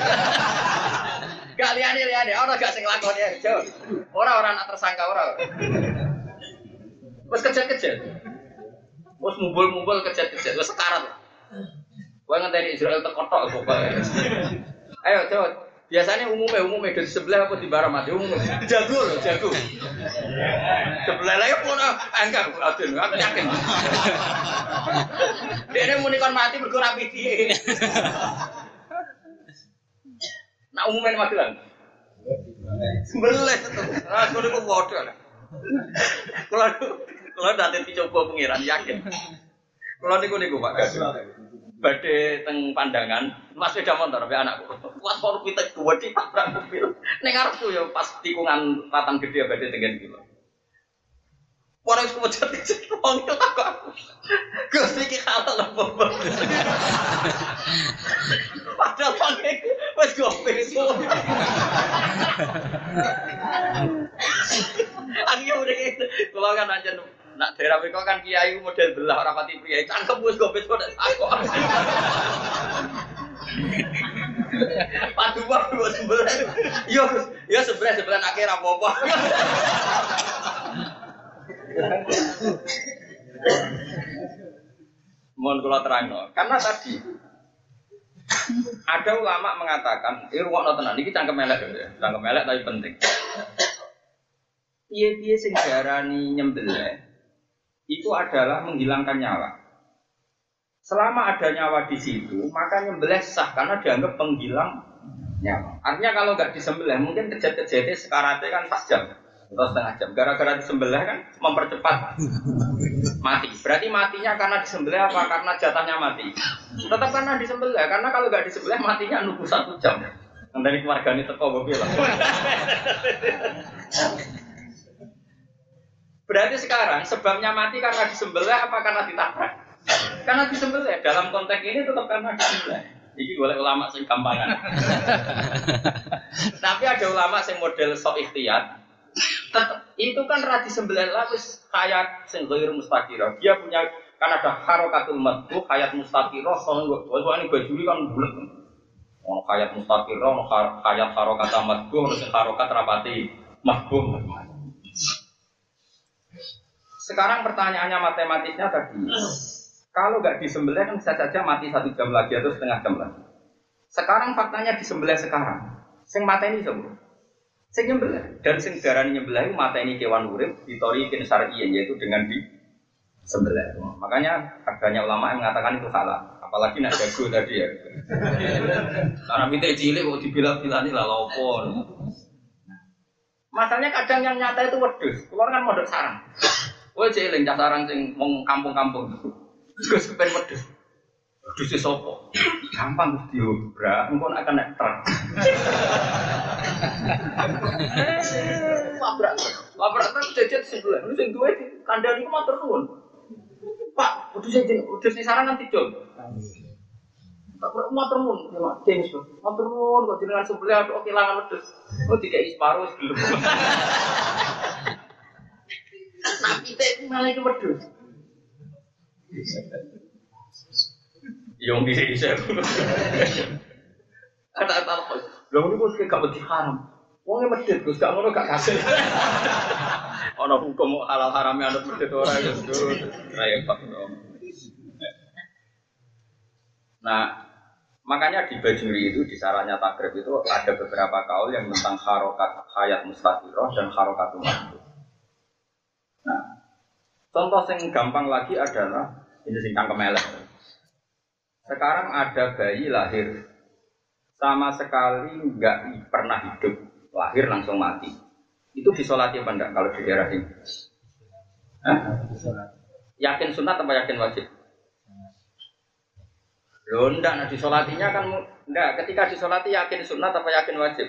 Gak liyane ora gak sing lakoni ya, jawab. Ora anak tersangka ora. Wes kejet-kejet. Wes mumbul-mumbul kejet-kejet wes sekarat. Kowe ngenteni Israel tekotok pokoke. Ayo jawab. Biasanya umumnya dari sebelah apa di barang mati umumnya jago loh jago. Sebelah lagi pun enggak adil aku yakin. Dia mau nikah mati berkurang dia. Nah umumnya mati kan? Sebelah itu, nah kalau itu bodoh lah. Kalau nanti dicoba pengiran yakin. Kalau niku Pak. Badhe teng pandangan, Mas sepeda motor sampai anakku. Kuat kok pitik gede tabrak mobil. Ning arepku ya pas tikungan ratan gede badhe tengen kilo. Ora wis kecet wong itu takok aku. Gus iki halal apa? Padahal pange wis gopeng itu. Aku udah gitu. Kalau kan aja nak daerah mereka kan kiai model belah orang pati pria, cangkem bus gopes kok takut. Padu sebelah, yo sebelah akhir apa? Mohon kalau terang karena tadi ada ulama mengatakan, ruang tenan ini cangkem elek tapi penting. Piye sing diarani nyembelih itu adalah menghilangkan nyawa. Selama ada nyawa di situ, maka nyembelih sah karena dianggap penghilang nyawa. Artinya kalau nggak disembelih, mungkin kejadian sekaratnya kan 4 jam atau setengah jam. Gara-gara disembelih kan mempercepat mati. Berarti matinya karena disembelih apa? Karena jatahnya mati. Tetap karena disembelih. Karena kalau nggak disembelih matinya nunggu 1 jam. Dari keluarga ini teko gue bilang. Berarti sekarang sebabnya mati karena disembelih apa karena ditabrak? Karena disembelih. Dalam konteks ini tetap karena disembelih. Ini boleh ulama sing gampangan. Tapi ada ulama sing model sok ikhtiyat. Itu kan ra disembelih lah wis hayat sing ghair mustaqirah. Dia punya kan ada harokatul madbuh, hayat mustaqirah, sono ini baju kan bulet. Ono hayat mustaqirah, ono hayat harokatul madbuh, terus harokat rapati madbuh. Sekarang pertanyaannya matematisnya tadi, kalau nggak disembelih kan bisa saja mati 1 jam lagi atau setengah jam lagi. Sekarang faktanya disembelih sekarang, sing mata ini semua, sing nyembelih dan sing darani nyembelih mata ini kewan urip ditorikin syar'iyyan yaitu dengan disembelih. Makanya adanya ulama yang mengatakan itu salah, apalagi nak jago tadi ya. Karena pitik cilik kok dibilang-bilani lah lopo. Masalahnya kadang yang nyata itu wedhus, keluar kan modok sarang. Kowe jeling cah sarang sing wong kampung-kampung. Gus kepen wedhus. Wedhus sapa? Gampang diobrak, engko nek kena truk. Labrak truk jajan sebulan. Lu sing duwe kandhani ku matur nuwun. Pak, wedhus sing sarang nanti dol. Tak matur nuwun, James. Matur nuwun kok jenengan sebelah kok kelangan wedhus. Oh dikeki separo wis gelem. Nah, kita malah itu wedhus. Yang bisa. Ada apa? Lalu ni pun gak beti haram. Wongnya medit, Gus gak ngono gak kasih. Ono hukum halal haramnya ada medit orang itu. Repot dong. Nah, makanya di Bajuri itu di sarannya takrib itu ada beberapa kaul yang tentang harokat hayat mustaqiroh dan harokat umat. Nah, contoh yang gampang lagi adalah ini singkang kemelek. Sekarang ada bayi lahir sama sekali nggak pernah hidup, lahir langsung mati. Itu disolati apa enggak kalau di daerah ini? Yakin sunat apa yakin wajib? Loh enggak, nah disolatinya kan enggak. Ketika disolati yakin sunat apa yakin wajib?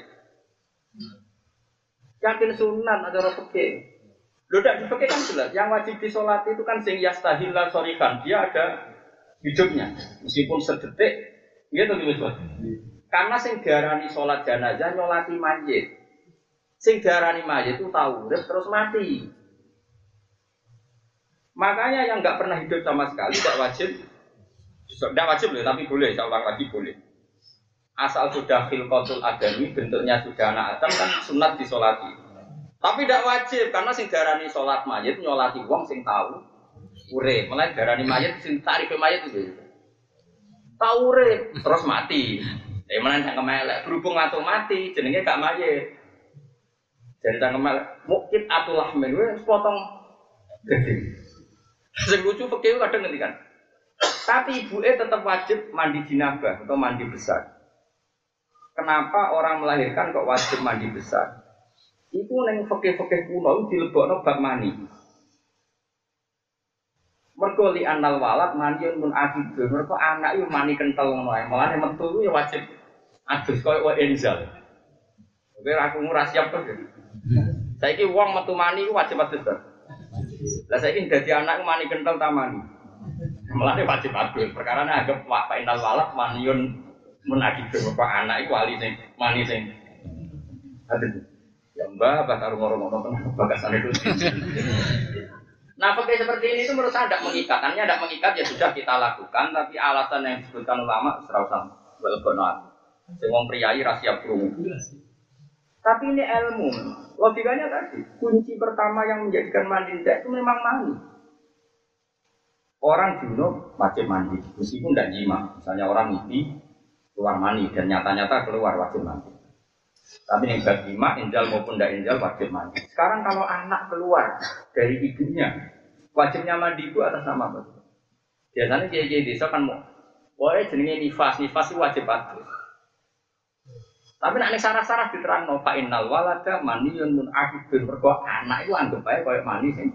Yakin sunat ada orang fikih. Loh enggak, di fikih kan jelas. Yang wajib disolati itu kan sing yastahillah sorikan. Dia ada hidupnya, meskipun sedetik, gitu gitu. Karena sing diarani sholat jenazah nyolati mayit, sing diarani mayit itu tahu urip terus mati. Makanya yang nggak pernah hidup sama sekali tidak wajib loh, tapi boleh. Saya ulang lagi boleh. Asal sudah khilqatul adami, bentuknya sudah anak Adam kan sunat disolati. Tapi tidak wajib karena sing diarani sholat mayit nyolati wong sing tahu. Urip, malah darani mayat sing tarif mayat itu. Tahu urip terus mati. Mana yang kemelek berhubung atau mati jenenge gak mayat. Jadi tak kemelek mungkin atulah menwe potong gede. Sing lucu fikih kadang ngendikan. Tapi ibuke tetap wajib mandi jinabah atau mandi besar. Kenapa orang melahirkan kok wajib mandi besar? Iku ning fikih-fikih kuno dilebokno bab mani. Mergo li anal walad maniyun mun akidun. Mergo anak yo mani kentel ngono ae. Mulane metu yo wajib adus koyo wa enzal. Oke aku ora siap to. Saiki wong metu mani ku wajib adus to. Lah saiki dadi anak mani kentel ta mani. Mulane wajib adus. Perkarane anggap wa inal walad maniyun mun akidun. Mergo anak iku wali sing mani sing adus. Ya mbah bakal ngoro-ngoro bagasan itu. Nah, pakai seperti ini itu menurut saya tidak mengikat. Artinya tidak mengikat ya sudah kita lakukan, tapi alasan yang disebutkan ulama serausan welgonoat. Semua priayi rahasia perung. Tapi ini ilmu. Logikanya tadi, kunci pertama yang menjadikan mandi itu memang mandi. Orang junub wajib mandi, meskipun tidak jima. Misalnya orang mimpi keluar mandi dan nyata-nyata keluar wajib mandi. Tapi yang bagi mak, injal maupun tidak injal wajib mandi. Sekarang kalau anak keluar dari ibunya, wajibnya mandi itu atas nama apa? Biasanya kiai-kiai desa kan mau, wah jenenge nifas itu wajib adus. Tapi nak sarah-sarah diterang no fa innal walada maniyun mun akibun mergo anak itu anggap bae koyo mani sing.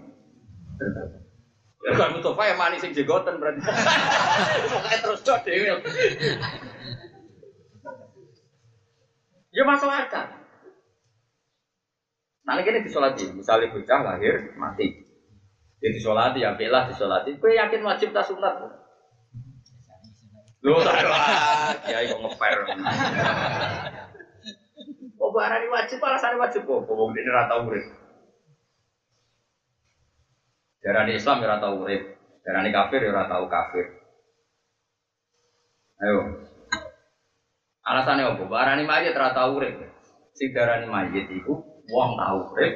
Ya kan Mustafa ya mani sing jegoten berarti. Pokoke terus do dhewe. Ya masuk akal. Nah ini disolati, misalnya bocah lahir mati, dia disolati, ya belah disolati. Kue yakin wajib tak sunat? Loh tak lah, kiai kok ngeper. Oh barang wajib, alasannya wajib kok. Bobong ini rata urip. Darah Islam ya rata urip, darah kafir ya rata kafir. Ayo. Alasannya apa? Barani mayit ora tau urip. Sing darani mayit iku wong tau urip.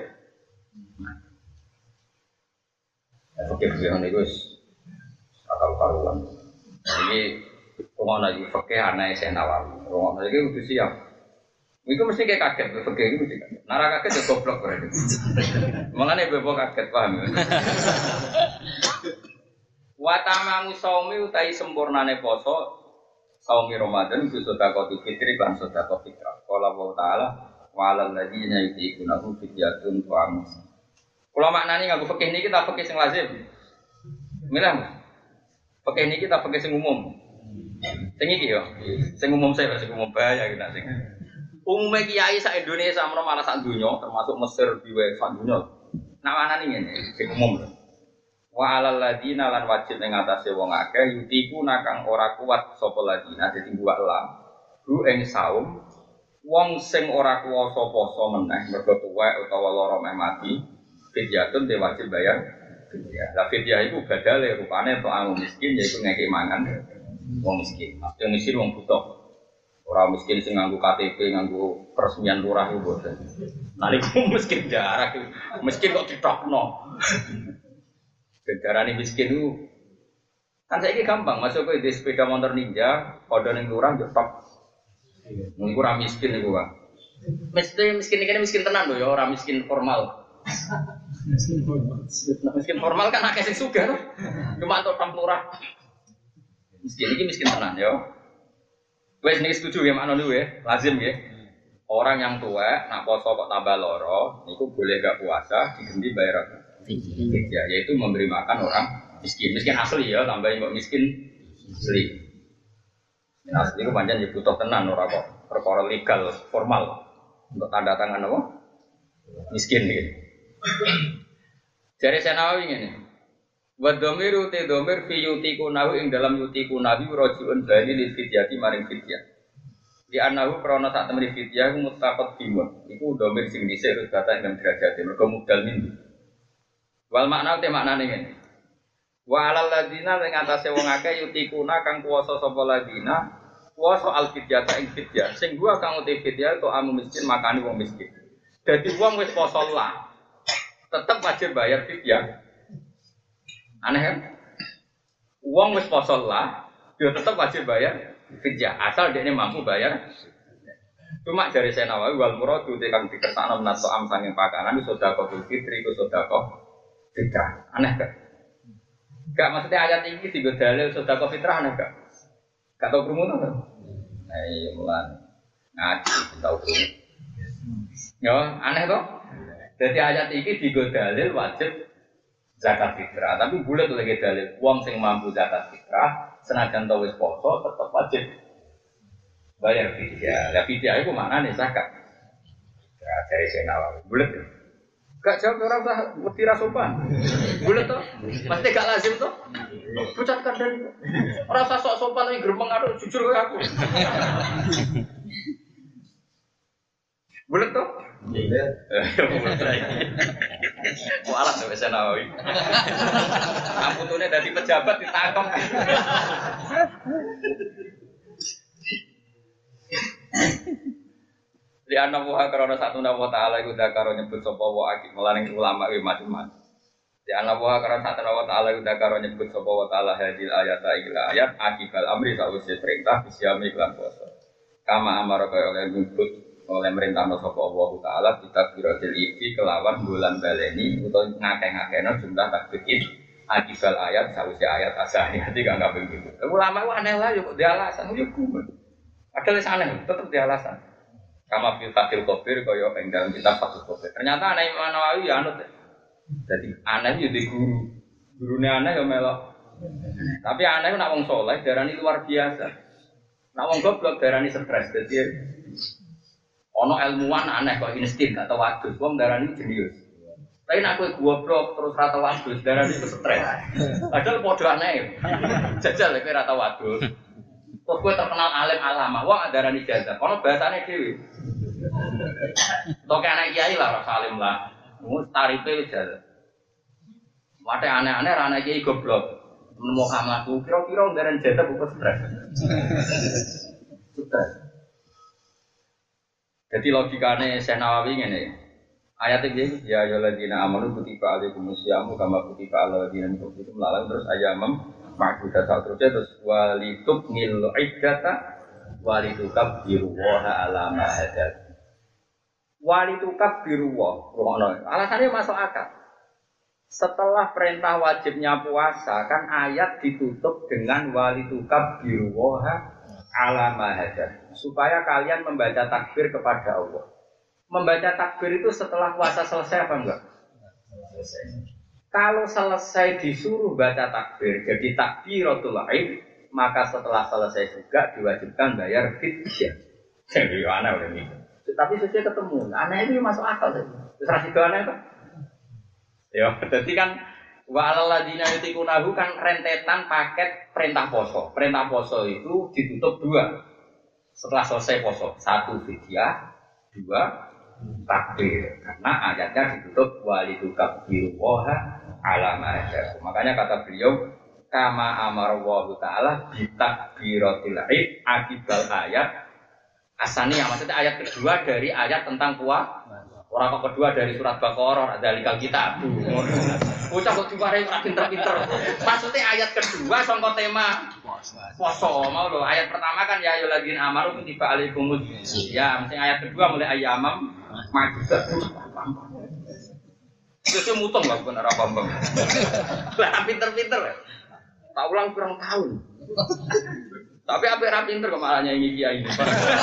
Ya fikih ngene iku wis akal karuan. Iki ngono iki fikih ana Syekh Nawawi. Ngono iki kudu siap. Iku mesti kayak kaget fikih iki mesti kaget. Nara kaget ya goblok berarti. Mangane bebo kaget paham. Wa tamamu saumi utai sempurnane poso saumi Ramadan itu sedekah fitri lan sedekah fitrah. Qala wa ta'ala wa 'alal ladzina yutiqunahu fidyatun ta'am. Kula maknani nganggo fikih niki ta fikih sing lazim. Milih. Pakai ini kita pakai sing umum. Sing iki yo. Sing umum saya sing umum bahaya kita sing. Umumnya kiai sak Indonesia malah sak dunya termasuk Mesir biwe sak dunya. Nawanan ngene sing umum. Wa alal ladina lan wajib ing atase wong akeh yutiku nakang ora kuat sapa ladina dadi buak lam. Ru ing saum wong sing ora kuwasa poso meneh mergo tuwek utawa lara meh mati fidyatun te wajib bayar. Ya, la fidyah iku badale rupane untuk wong miskin yaiku ngekek mangan wong miskin. Maksudnya miskin wong butuh. Orang miskin sing nganggo KTP, nganggo peresmian lurah itu boten. Naliku miskin jarak, miskin kok ditokno. Darane miskin itu kan saiki gampang, masuk ke di sepeda motor ninja, kode ning lurah yo tok. Mung ora miskin iku, Pak. Miskin iki miskin tenan lho ya, ora miskin formal. Miskin formal kan akeh sing sugih to. Cuma untuk tok lurah. Miskin iki miskin tenan ya. Wes niki setuju ya makna niku ya, lazim ya. Orang yang tua nak poso kok tambah loro, niku boleh gak puasa diganti bayar fidyah, yaitu memberi makan orang miskin. Miskin asli ya, tambahin kok miskin asli. Asli itu pancen ya butuh tenan ora kok perkara legal formal untuk tanda tangan apa? Miskin gitu. Jare Senawi ngene. Wa dhamiru te dhamir fi yutiku nahu ing dalam yutiku nabi rajiun bali li fidyati maring fidyah. Di anahu krana sak temri fidyah mutaqad bimun. Iku dhamir sing dhisik terus kata ing derajate mergo mudal min. Wal makna te maknane ngene. Wa alal ladina ing atase wong akeh yutikuna kang kuwasa sapa ladina kuwasa al fidyata ing fidyah. Sing gua kang uti fidyah to amu miskin makani wong miskin. Dadi wong wis poso lah tetep wajib bayar fidyah. Aneh kan? Uang wis poso lah, dia tetap wajib bayar fidyah asal dia mampu bayar. Cuma dari saya Nawawi wal muradu tekan dikersakno menato am sanging pakanan sedekah fitri ku sedekah fitrah. Aneh kan? Gak maksudnya ayat ini tiga dalil sedekah fitrah aneh gak? Gak tau krungu to kan? Nah iya mulan ngaji tau krungu. Yo aneh toh? Jadi ayat ini tiga dalil wajib zakat fitrah, tapi bulat lagi dalil uang sing mampu zakat fitrah senajan tau wis poso tetap wajib bayar fidyah. Ya fidyah itu maknane zakat. Ya dari Nawawi bulat. Gak jawab ora usah mesti ra sopan. Bulat to? Pasti gak lazim to? Pucat kadang. Ora usah sok sopan ning gremeng karo jujur koyo aku. Bulat to? Iya. Mualat tuh bisa Nawawi. Amputune dari pejabat ditangkap. Di anak buah karena satu nama Taala itu dah karo nyebut sopo wa akik melaning ulama macam-macam. Di anak buah karena satu nama Taala itu dah karo nyebut sopo wa Taala hadil ayat ayat akibal amri sausya perintah bisyami iklan puasa. Kama amar kaya oleh nyebut oleh merintah no sapa Allah Taala kita biratil iki kelawan bulan baleni utawa ngakeh-ngakehno jumlah takbir akibal ayat sausya ayat asani nanti gak begitu. Ulama itu aneh lah yo dia alasan yo kumen. Padahal aneh tetap dia alasan. Kama fil Fathul Qabir kaya ing dalam kitab Fathul Qabir. Ternyata aneh Imam Nawawi ya anut. Jadi aneh yo di guru. Gurune aneh yo melok. Tapi aneh nak wong saleh darani luar biasa. Nak wong goblok darani stres. Dadi ono ilmuwan aneh kok insting gak tau wadus. Wong darani jenius. Tapi nak kowe goblok terus ra tau wadus darani stres. Padahal padha aneh. Jajal kowe ra tau wadus. Terus kowe terkenal alim alama. Wong darani jazah. Ono bahasane dhewe. Tok anak kiai lah rasa alim lah. Mus tarife wis jazah. Wate aneh-aneh ra anak kiai goblok. Nemu kamlaku kira-kira darani jazah bukan stres. Stres. Jadi logikane Syekh Nawawi ngene. Ayat iki ya ayyuhalladzina amanu kutiba alaikumusyamu kama kutiba alal ladzina min qablikum la'allakum terus ayamam ma'dudat terus walitub nil iddata walitukabbiru wa ala ma hadad. Walitukabbiru wa. Alasannya masuk akal. Setelah perintah wajibnya puasa kan ayat ditutup dengan walitukabbiru wa ala ma hadad. Supaya kalian membaca takbir kepada Allah. Membaca takbir itu setelah puasa selesai apa enggak? Selesai. Kalau selesai disuruh baca takbir, jadi takbiratul id, maka setelah selesai juga diwajibkan bayar fidyah. Jadi aneh udah ini. Tapi sesuai ketemu, aneh itu masuk akal saja. Terus itu aneh kan? Ya, jadi kan wa'aladina yutikunahu kan rentetan paket perintah poso. Perintah poso itu ditutup 2. Setelah selesai poso, 1 fidyah, 2 takbir. Karena ayatnya ditutup walidukabbiru waha alama aja. Makanya kata beliau kama amarallahu taala bitakbiratil id akibal ayat asaniyah, maksudnya ayat kedua dari ayat tentang puasa. Orang kok kedua dari surat Baqarah dzalikal kitab. Bocah kok diwarai ora pinter-pinter. Maksudnya ayat kedua sangka tema puasa. Mau lho, ayat pertama kan ya ayyuhalladzina amanu kutiba alaikumus ya, mesti ayat kedua mulai ayyamam ma'dudat. Itu mutung lah bukan arah Bambang. Lah pinter-pinter. Tak ulang kurang tahun. Tapi apa yang pinter kok malah nyanyi kiai ini.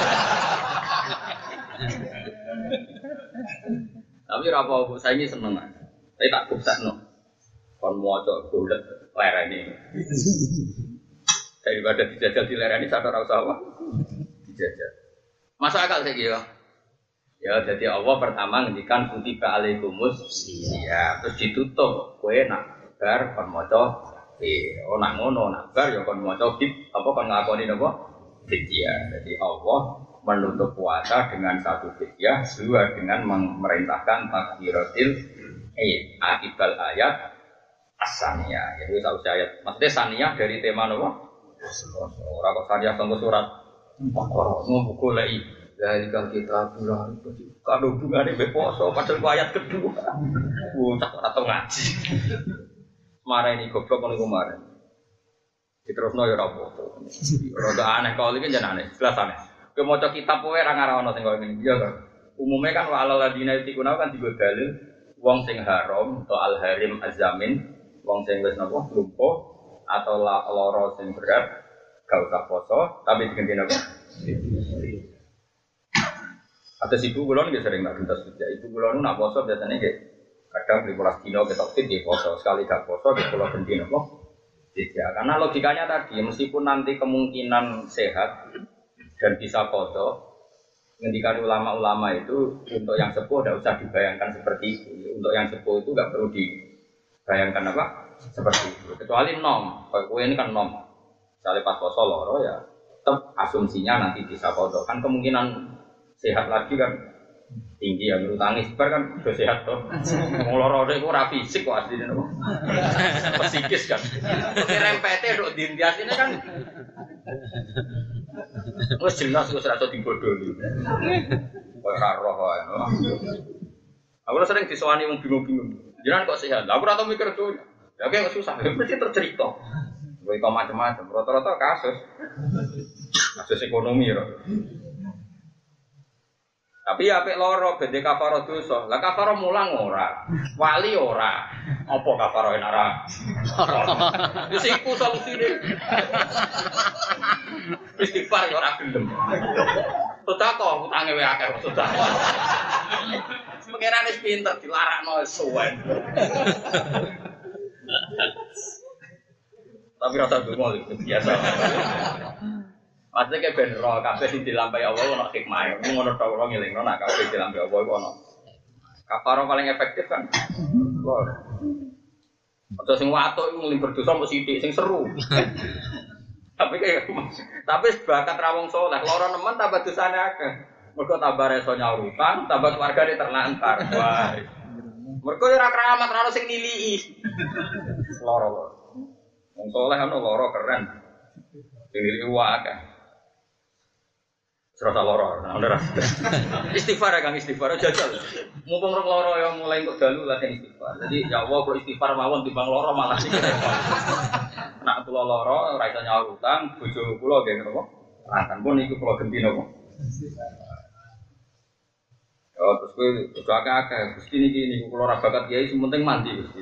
Tapi apa bu saya ini seneng. Saya tak kubsakno. Kon maca golek lereni. Daripada dijajal di lereni sadar ora usah apa. Dijajal. Masuk akal saiki ya. Ya, jadi Allah pertama ngendikan kutiba alaikumus ya, terus ditutup kowe nak bar kon maca nak ngono nak bar ya kon maca apa kon ngakoni napa fidyah. Jadi Allah menutup puasa dengan 1 fidyah, 2 dengan memerintahkan takbiratil akibal ayat as-saniyah. Jadi satu ayat maksudnya saniyah dari tema napa? Ora kok saniyah tenggo surat Baqarah buku lagi. Dari kalau kita pulang kalau hubungannya beposo padahal ayat kedua tak atau ngaji marah ini goblok kalau kemarin terus no ya rapopo roda aneh kalau ini jangan aneh jelas aneh kemoco kitab poe rangarawano tinggal ini dia kan umumnya kan wa'alal ladina yutikuna kan tiga dalil wong sing haram atau al harim azamin wong sing wis napa lumpuh atau loro sing berat gak usah poso tapi diganti napa atas ibu kulon nggak sering nak gentas kerja. Ibu kulon nak poso biasanya kayak kadang 15 kilo kita fit di poso sekali gak poso di pulau benci nopo. Tidak, karena logikanya tadi meskipun nanti kemungkinan sehat dan bisa poso, ngendikan ulama-ulama itu untuk yang sepuh tidak usah dibayangkan seperti itu. Untuk yang sepuh itu nggak perlu dibayangkan apa seperti itu. Kecuali nom, kalau ini kan nom. Misalnya pas poso loro ya, tetap asumsinya nanti bisa poso. Kan kemungkinan sehat lagi kan tinggi ya menurut tangis bar kan udah sehat toh ngolor itu ora fisik kok aslinya nopo psikis kan rempete dok dindias ini kan wis jelas wis ora iso dibodohi koyo ora roh wae aku sering disowani wong bingung-bingung jenengan kok sehat aku ora tau mikir tuh ya kayak susah mesti tercerita kowe kok macam-macam rata-rata kasus ekonomi ya. Tapi ya apik loro bende kafaro dosa. Lah kafaro mulang ora. Wali ora. Apa kafaro ora? Wis iku solusine. Istighfar ya ora gelem. Sedekah utange wae akeh sedekah. Pengiran wis pinter dilarakno suwen. Tapi rasa dungo biasa. Maksudnya kayak ben roh kabeh sing dilampahi Allah ono hikmah. Ngono tok ora ngelingno nek kabeh dilampahi Allah iku ono. Kafarah paling efektif kan. Lor. Aja sing watuk iku nglim berdosa mesti sithik sing seru. Tapi bakat rawong saleh, loro nemen tambah dosane akeh. Mergo tambah reso nyaurutan, tambah keluargane terlantar. Wah. Mergo ora keramat ora sing nilii. Loro. Wong saleh ono loro keren. Sing nilii wae. Serasa loro, nah udah istighfar ya kang istighfar, jajal. Mumpung rong loro yang mulai untuk dalu latihan istighfar. Jadi ya Allah kalau istighfar mawon timbang loro malah sih. Nak pulau loro, raisa nyawa utang, bojo pulau geng nopo. Akan pun ikut pulau genti nopo. Oh terus gue udah agak gusti ini pulau rabakat kiai, sementing mandi gusti.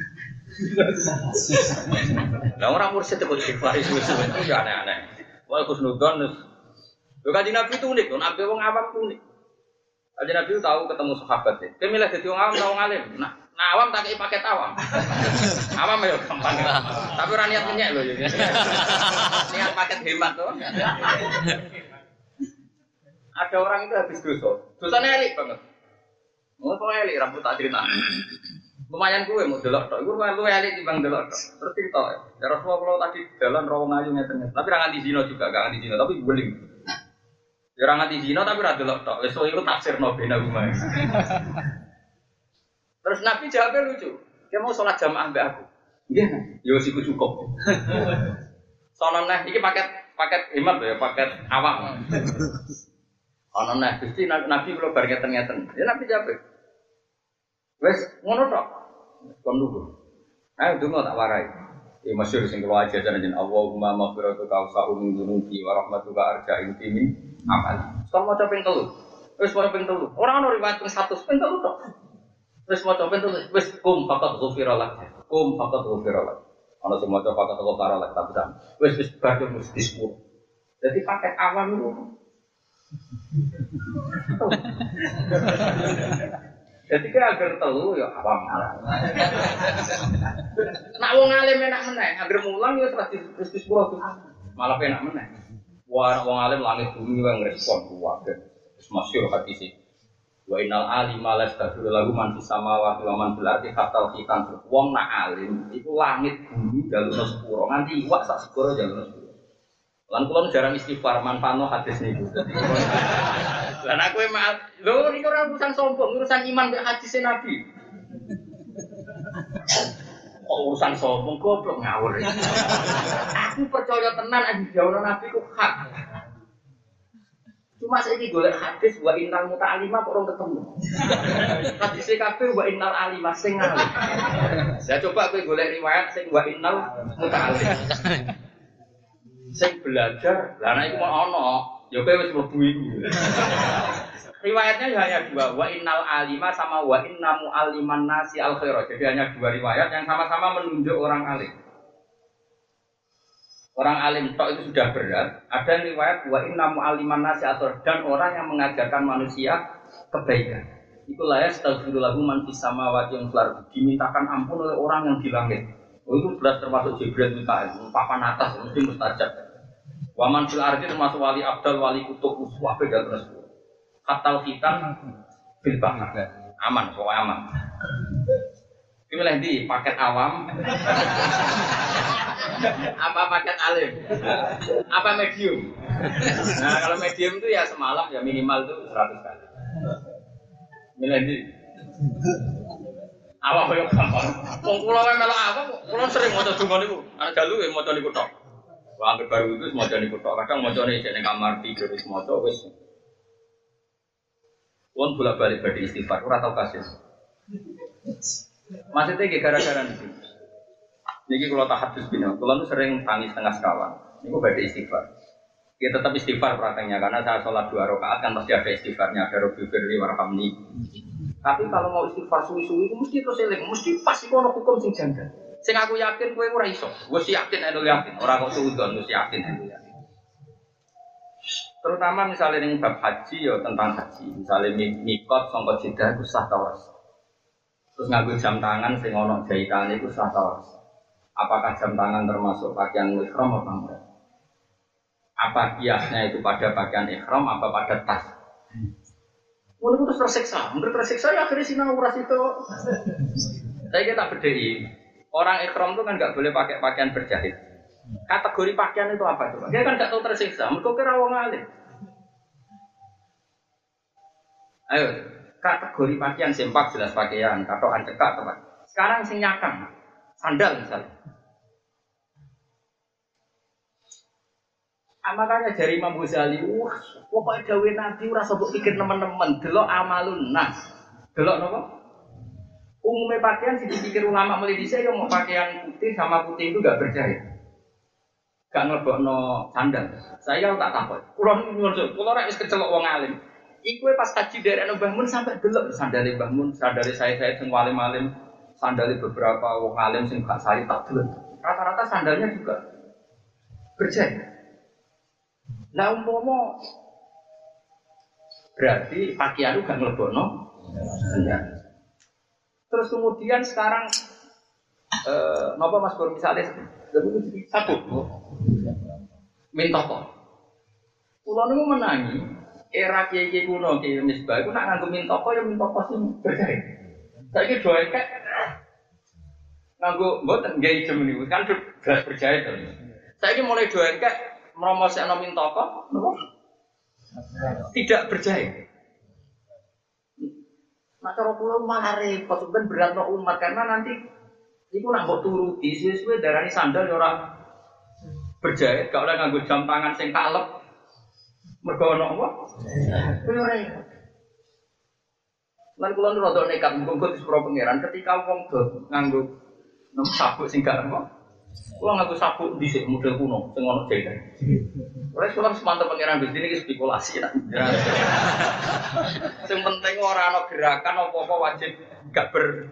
Nah orang mursyid itu istighfar itu aneh-aneh. Wah kusnudon. Kanjeng Nabi itu unik, Nabi wong awam itu unik. Kanjeng Nabi tahu ketemu sahabat ya. Dia milih jadi wong awam atau wong alim. Nah Nah, awam tak kei paket awam. Awam ya gampang. Tapi ora niat nyek lho ya. Niat paket hemat tuh. Ada orang itu habis dosa. Dosanya elik banget. Mau kok elik rambut tak cerita. Lumayan gue mau delok tok. Iku lu elik timbang delok tok. Terus cerita. Ya Rasulullah kalau tadi jalan rawang ayu ngeten. Tapi ra nganti zina juga, gak nganti zina, tapi guling. Ya ora nganti zina tapi ra delok tok. Wis iku tafsirno bena rumah. Terus Nabi jawabnya lucu. Dia mau sholat jamaah mbak aku. Iya, yo siku cukup. Soalnya nah, ini paket hemat ya, paket awam. Ono nah, Gusti Nabi kalau bar ngeten-ngeten. Ya Nabi jawab. Wes ngono tok. Kon lugu. Ayo donga tak warai. Ya masyhur sing kula ajaran jeneng Allahumma maghfiratuka awsa'u min dzunubi wa rahmatuka arja'u min amal. Kon maca ping 3. Wes maca ping 3. Ora ono riwayat ping 100 ping 3 tok. Wes maca ping 3 wes kum faqat ghufiralak. Kum faqat ghufiralak. Ana sing maca faqat ghufiralak tapi sam. Wes bar mesti 10. Jadi paket awam itu. Jadi kan agar telu ya awam malah. Nak wong alim enak meneh, agar mulang ya terus sepuro tuh. Malah enak meneh. Wah wong alim langit bumi wae ngrespon kuwabe. Wis masyhur hadis iki. Wa innal alima lastaghfiru lahu man fis samawati wa man fil ardi hatta khitan. Wong nak alim iku langit bumi jalurna sepuro nganti iwak sak sepuro jalurna sepuro. Lan kula jarang istighfar manfaatno hadis niku. Lan aku emang lho niku ora urusan sombong, urusan iman mek hadis Nabi. Urusan sombong goblok ngawur. Aku percaya tenan nek dawuh Nabi ku hak. Cuma saiki golek hadis wa innal muta'allimah kok ora ketemu. Hadis kabeh wa innal alimah sing ngalim. Saya coba kowe golek riwayat sing wa innal muta'allim. Sing belajar, lah nek iku mau ana, ya kowe wis mlebu iku. Riwayatnya hanya dua, wa innal alima sama wa inna mu'alliman nasi al khairah. Jadi hanya dua riwayat yang sama-sama menunjuk orang alim. Orang alim tok itu sudah berat. Ada riwayat wa inna mu'alliman nasi al khairah dan orang yang mengajarkan manusia kebaikan. Itulah ya astaghfiru lahu man fis samawati wal ardi. Dimintakan ampun oleh orang yang di langit. Oh, itu berat termasuk Jibril Mikail, papan atas mesti mustajab. Waman fil ardi termasuk wali abdal, wali kutub, uswah beda terus. Katal khitan bil bahar. Aman, pokoknya aman. Pilih di paket awam. Apa paket alim? Apa medium? Nah, kalau medium itu ya semalam ya minimal itu 100 kali. Milih di awak koyo gampang. Wong kula wae melok awak, kula sering maca donga niku. Ana dalu ya maca niku tok. Wah, anggere baru itu maca niku tok. Kadang macane jek ning kamar tidur wis maca wis. Wong bolak-balik badhe istighfar, ora tau kasil. Maksudnya gara-gara niku. Niki kula tahadus bina, kula nu sering tangis tengah sekawan. Niku badhe istighfar. Ya tetap istighfar prakteknya karena saya sholat 2 rakaat kan pasti ada istighfarnya, ada Rabbi firli warhamni. Tapi kalau mau istighfar suwi-suwi itu mesti terus eling, mesti pas iku ana hukum sing janggal. Sing aku yakin kowe ora iso. Wis yakin nek yakin, ora kok suudon wis yakin nek yakin. Terutama misalnya ning bab haji ya tentang haji. Misalnya mikot sangka Jeddah iku sah ta ora? Terus nganggo jam tangan sing ana jahitane iku sah ta ora? Apakah jam tangan termasuk pakaian ihram apa enggak? Apa kiasnya itu pada pakaian ihram apa pada tas? Mulai terus tersiksa, ya akhirnya sinau ras itu. Saya kita bedai, orang ikhram itu kan nggak boleh pakai pakaian berjahit. Kategori pakaian itu apa coba? Dia kan nggak tahu tersiksa, mereka kira wong alim. Ayo, kategori pakaian sempak jelas pakaian, katokan cekak teman. Sekarang sing nyakang, sandal misalnya. Makanya dari Imam Ghazali, pokoknya dawuh Nabi ora usah pikir teman-teman, delok amalun nas. Delok napa? Umumnya pakaian sing dipikir ulama mulai dhisik yo mau pakaian putih sama putih itu enggak berjahit. Gak nglebokno sandal. Saya tak takut. Kula nek wis kecelok wong alim. Iku pas haji dari Mbah Mun sampai delok sandale Mbah Mun, sandale saya sing alim-alim, sandale beberapa wong alim sing gak saya tak delok. Rata-rata sandalnya juga berjahit. Lah umpama berarti pakaian itu gak nglebokno sandal. Terus kemudian sekarang napa Mas Bur misalnya sabuk mintoko. Kulo niku menangi era kiai kuno kiai Misbah iku nak nganggo mintoko ya mintoko sing berjaya. Saiki do ekek nganggo mboten nggih ijem niku kan gelas berjaya to. Saiki mulai do ekek mromosekno mintoko napa? Tidak berjaya. Nah cara kula malah repot ben beratno umat karena nanti iku nak mbok turuti suwe-suwe darani sandal ya ora berjahit, gak oleh nganggo jam tangan sing kalep. Mergo ana apa? Kuwi ora. Lan kula nu rada nekat mung disepuro pangeran ketika wong do nganggo sabuk sing gak apa. Kula nganggo sabuk dhisik model kuno sing ono jahitan. Ora kula semantep pangeran Gusti niki spekulasi tak. Sing penting ora ana gerakan apa-apa wajib gak ber.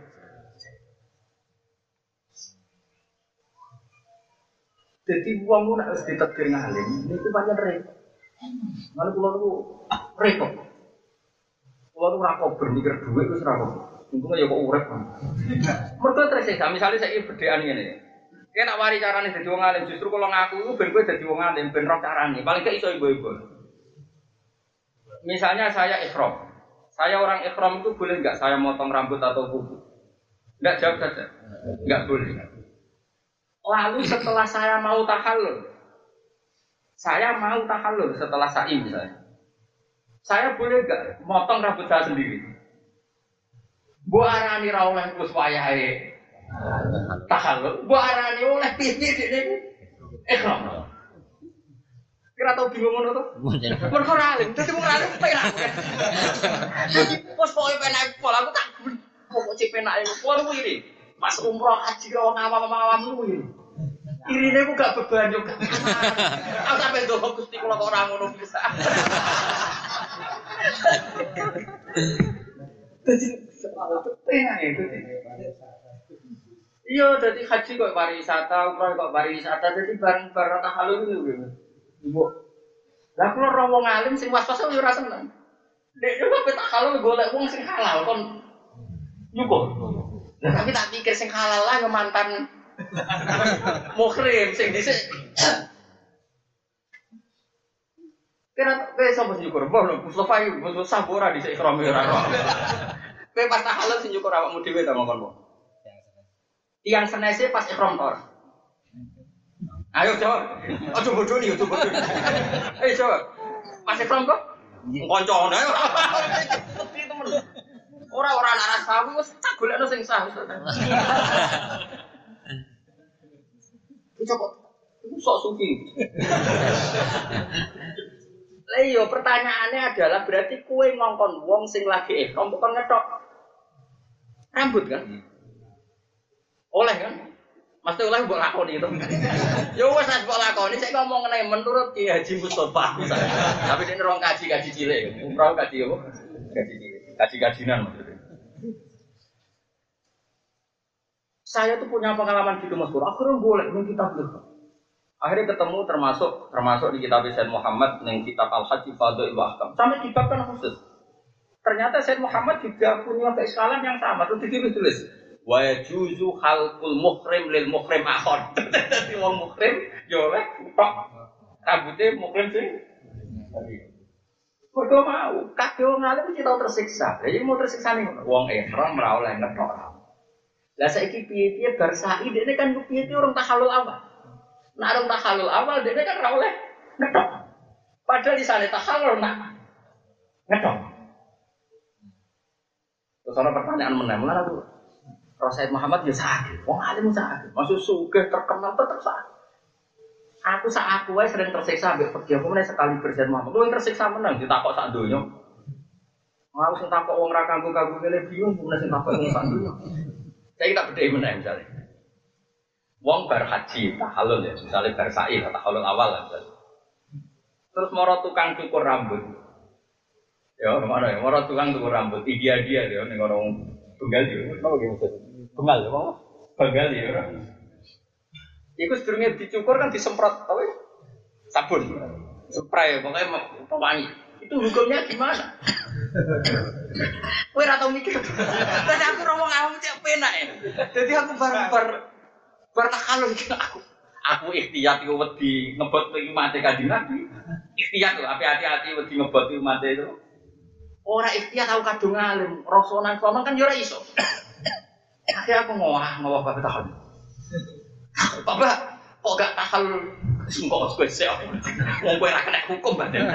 Jadi uang lu nak harus ditakdir ngalim, itu banyak repot. Kalau pulau lu repot, pulau lu rakop bermikir duit itu serakop. Untungnya ya kok urep. Mereka tersiksa. Misalnya saya berdean ini, dia nak wari caranya jadi uang ngalim. Justru kalau ngaku itu ben gue jadi uang ngalim, ben roh caranya. Paling gak iso ibu-ibu. Misalnya saya ikhram, saya orang ikhram itu boleh nggak saya motong rambut atau kuku? Nggak, jawab saja, nggak boleh. Lalu setelah saya mau tahallul setelah sa'i misalnya, saya boleh nggak motong rambut saya sendiri? Bu arani ra oleh terus wayahe tahallul, bu arani oleh piye ini? Ikhram. Kira tau bingung ngono to? Mergo ora alim, dadi wong alim penak. Dadi pos pokoke penak pola aku tak pokok cek penak pola kuwi. Pas umroh haji karo awam-awam kuwi. Irine ku gak beban yo. Aku sampe ndok Gusti kula kok ora ngono bisa. Dadi penak itu. Iya, dadi haji kok pariwisata, umroh kok pariwisata, dadi bareng-bareng tahallul itu. Ibu. Lah kula ora wong alim sing was-was yo ora seneng. Nek yo tahallul golek wong sing halal kon nyukup. Tapi tak pikir sing halal lah yo mantan muhrim sing dhisik. Kira sapa sing nyukur? Mbah Mustofa iki Mustofa ora dhisik ikrame ora. Kowe pas tahallul sing nyukur awakmu dhewe ta mongkon po. Yang senese pas ikram tor. Ayo jawab. Aja bodoni, aja bodoni. Ayo jawab. Pas ikram kok? Koncone ora. Mesti temen. Ora anak sawu wis tak golekno sing sah. Coba itu sok sufi. Lah iya pertanyaannya adalah berarti kowe ngongkon wong sing lagi ihram kok ngetok rambut kan? Oleh kan? Mesti oleh mbok lakoni itu. Ya wis nek mbok lakoni sik ngomong ngene menurut Ki Haji Mustofa misalnya. Tapi nek rong kaji cilik, umroh kaji apa? Kaji cilik. Kaji-kajinan maksudnya. Saya tuh punya pengalaman gitu Mas Bro. Akhirnya boleh ning kitab itu. Akhirnya ketemu termasuk di kitab Sayyid Muhammad ning kitab Al-Hajj Fadhil wa Ahkam. Sampai dibabkan khusus. Ternyata Sayyid Muhammad juga punya keislaman yang sama. Terus ditulis wa yajuzu khalqul muhrim lil muhrim akhar. Dadi wong muhrim yo oleh tok rambute muhrim sing mergo mau kabeh wong alim mesti tau tersiksa. Lah iki mau tersiksa ning wong ihram ora oleh ngetok. Lah saiki piye-piye bar sa'i dekne kan piye-piye orang tahallul awal. Nek orang tahallul awal dekne kan ora oleh ngetok. Padahal di sana tahallul nak ngetok. Terus ana pertanyaan meneh aku. Rasul Muhammad ya sakit. Wong alim sakit. Maksud sugih terkenal tetep sakit. Aku wae sering tersiksa ambek pergi aku meneh sekali berjan Muhammad. Kowe tersiksa menang ditakok sak donya. Aku sing takok wong ra kanggo-kanggo kene bingung meneh sing takok wong sak donya. Saya tak bedhei meneh misalnya. Wong bar haji tahallul ya, misalnya bar sa'i tahallul awal lah misalnya. Terus moro tukang cukur rambut. Ya, mana ya? Moro tukang cukur rambut. Dia ya ning orang tunggal yo. Apa ki maksud? Tunggal apa? Tunggal ya. Iku sedurunge dicukur kan disemprot apa? Sabun. Spray pokoknya pewangi. Itu hukumnya gimana? Kowe ora tau mikir. Terus aku ngomong awam cek penak ya. Dadi aku bar takalun aku ikhtiyat iku wedi ngebot umate Kanjeng Nabi. Ikhtiyat lho, hati-hati wedi ngebot umate itu. Ora ikhtiyat aku kadung alim, rasonan kan yo ora iso. Akhirnya aku ngowah bapak tahan. Bapak, kok gak tahan sungkok spesial? Mau gue rakyat hukum badan.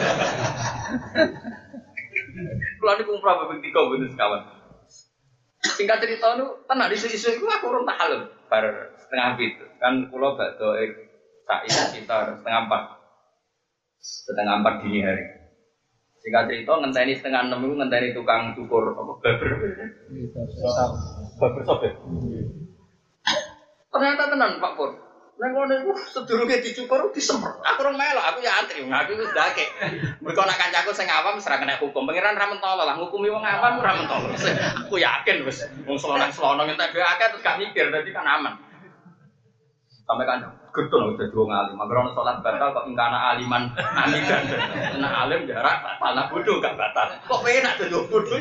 Kalau ini kumpulan bapak tiga bener sekawan. Singkat cerita itu, tenang di sisi-sisi itu aku urung tahan bar setengah bit. Kan pulau bakdo sa'i sekitar setengah empat dini hari. Singkat cerita ngenteni setengah 6 itu ngenteni tukang cukur apa baber. Baber sobek. Ternyata tenan Pak Pur. Nang ngono iku sedurunge dicukur disemprot. Aku ora melok, aku ya antri. Aku wis ndake. Mergo nek kancaku sing awam wis ora kena hukum. Pangeran ra mentolo lah ngukumi wong awam ora mentolo. Aku yakin wis wong selonang-selonang entek dhewe akeh terus gak mikir dadi kan aman. Sampai kan gedung udah dua ngalim. Makanya sholat batal kok ingkana aliman amidan. Nah alim jarak tanah bodoh gak batal. Kok enak tuh dua bodoh?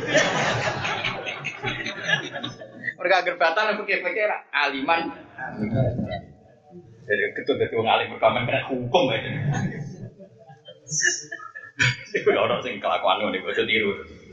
Mereka agar batal pikir-pikir aliman. Jadi gedung udah dua ngalim berkaman kena hukum aja. Itu orang sing kelakuan nih gue tiru.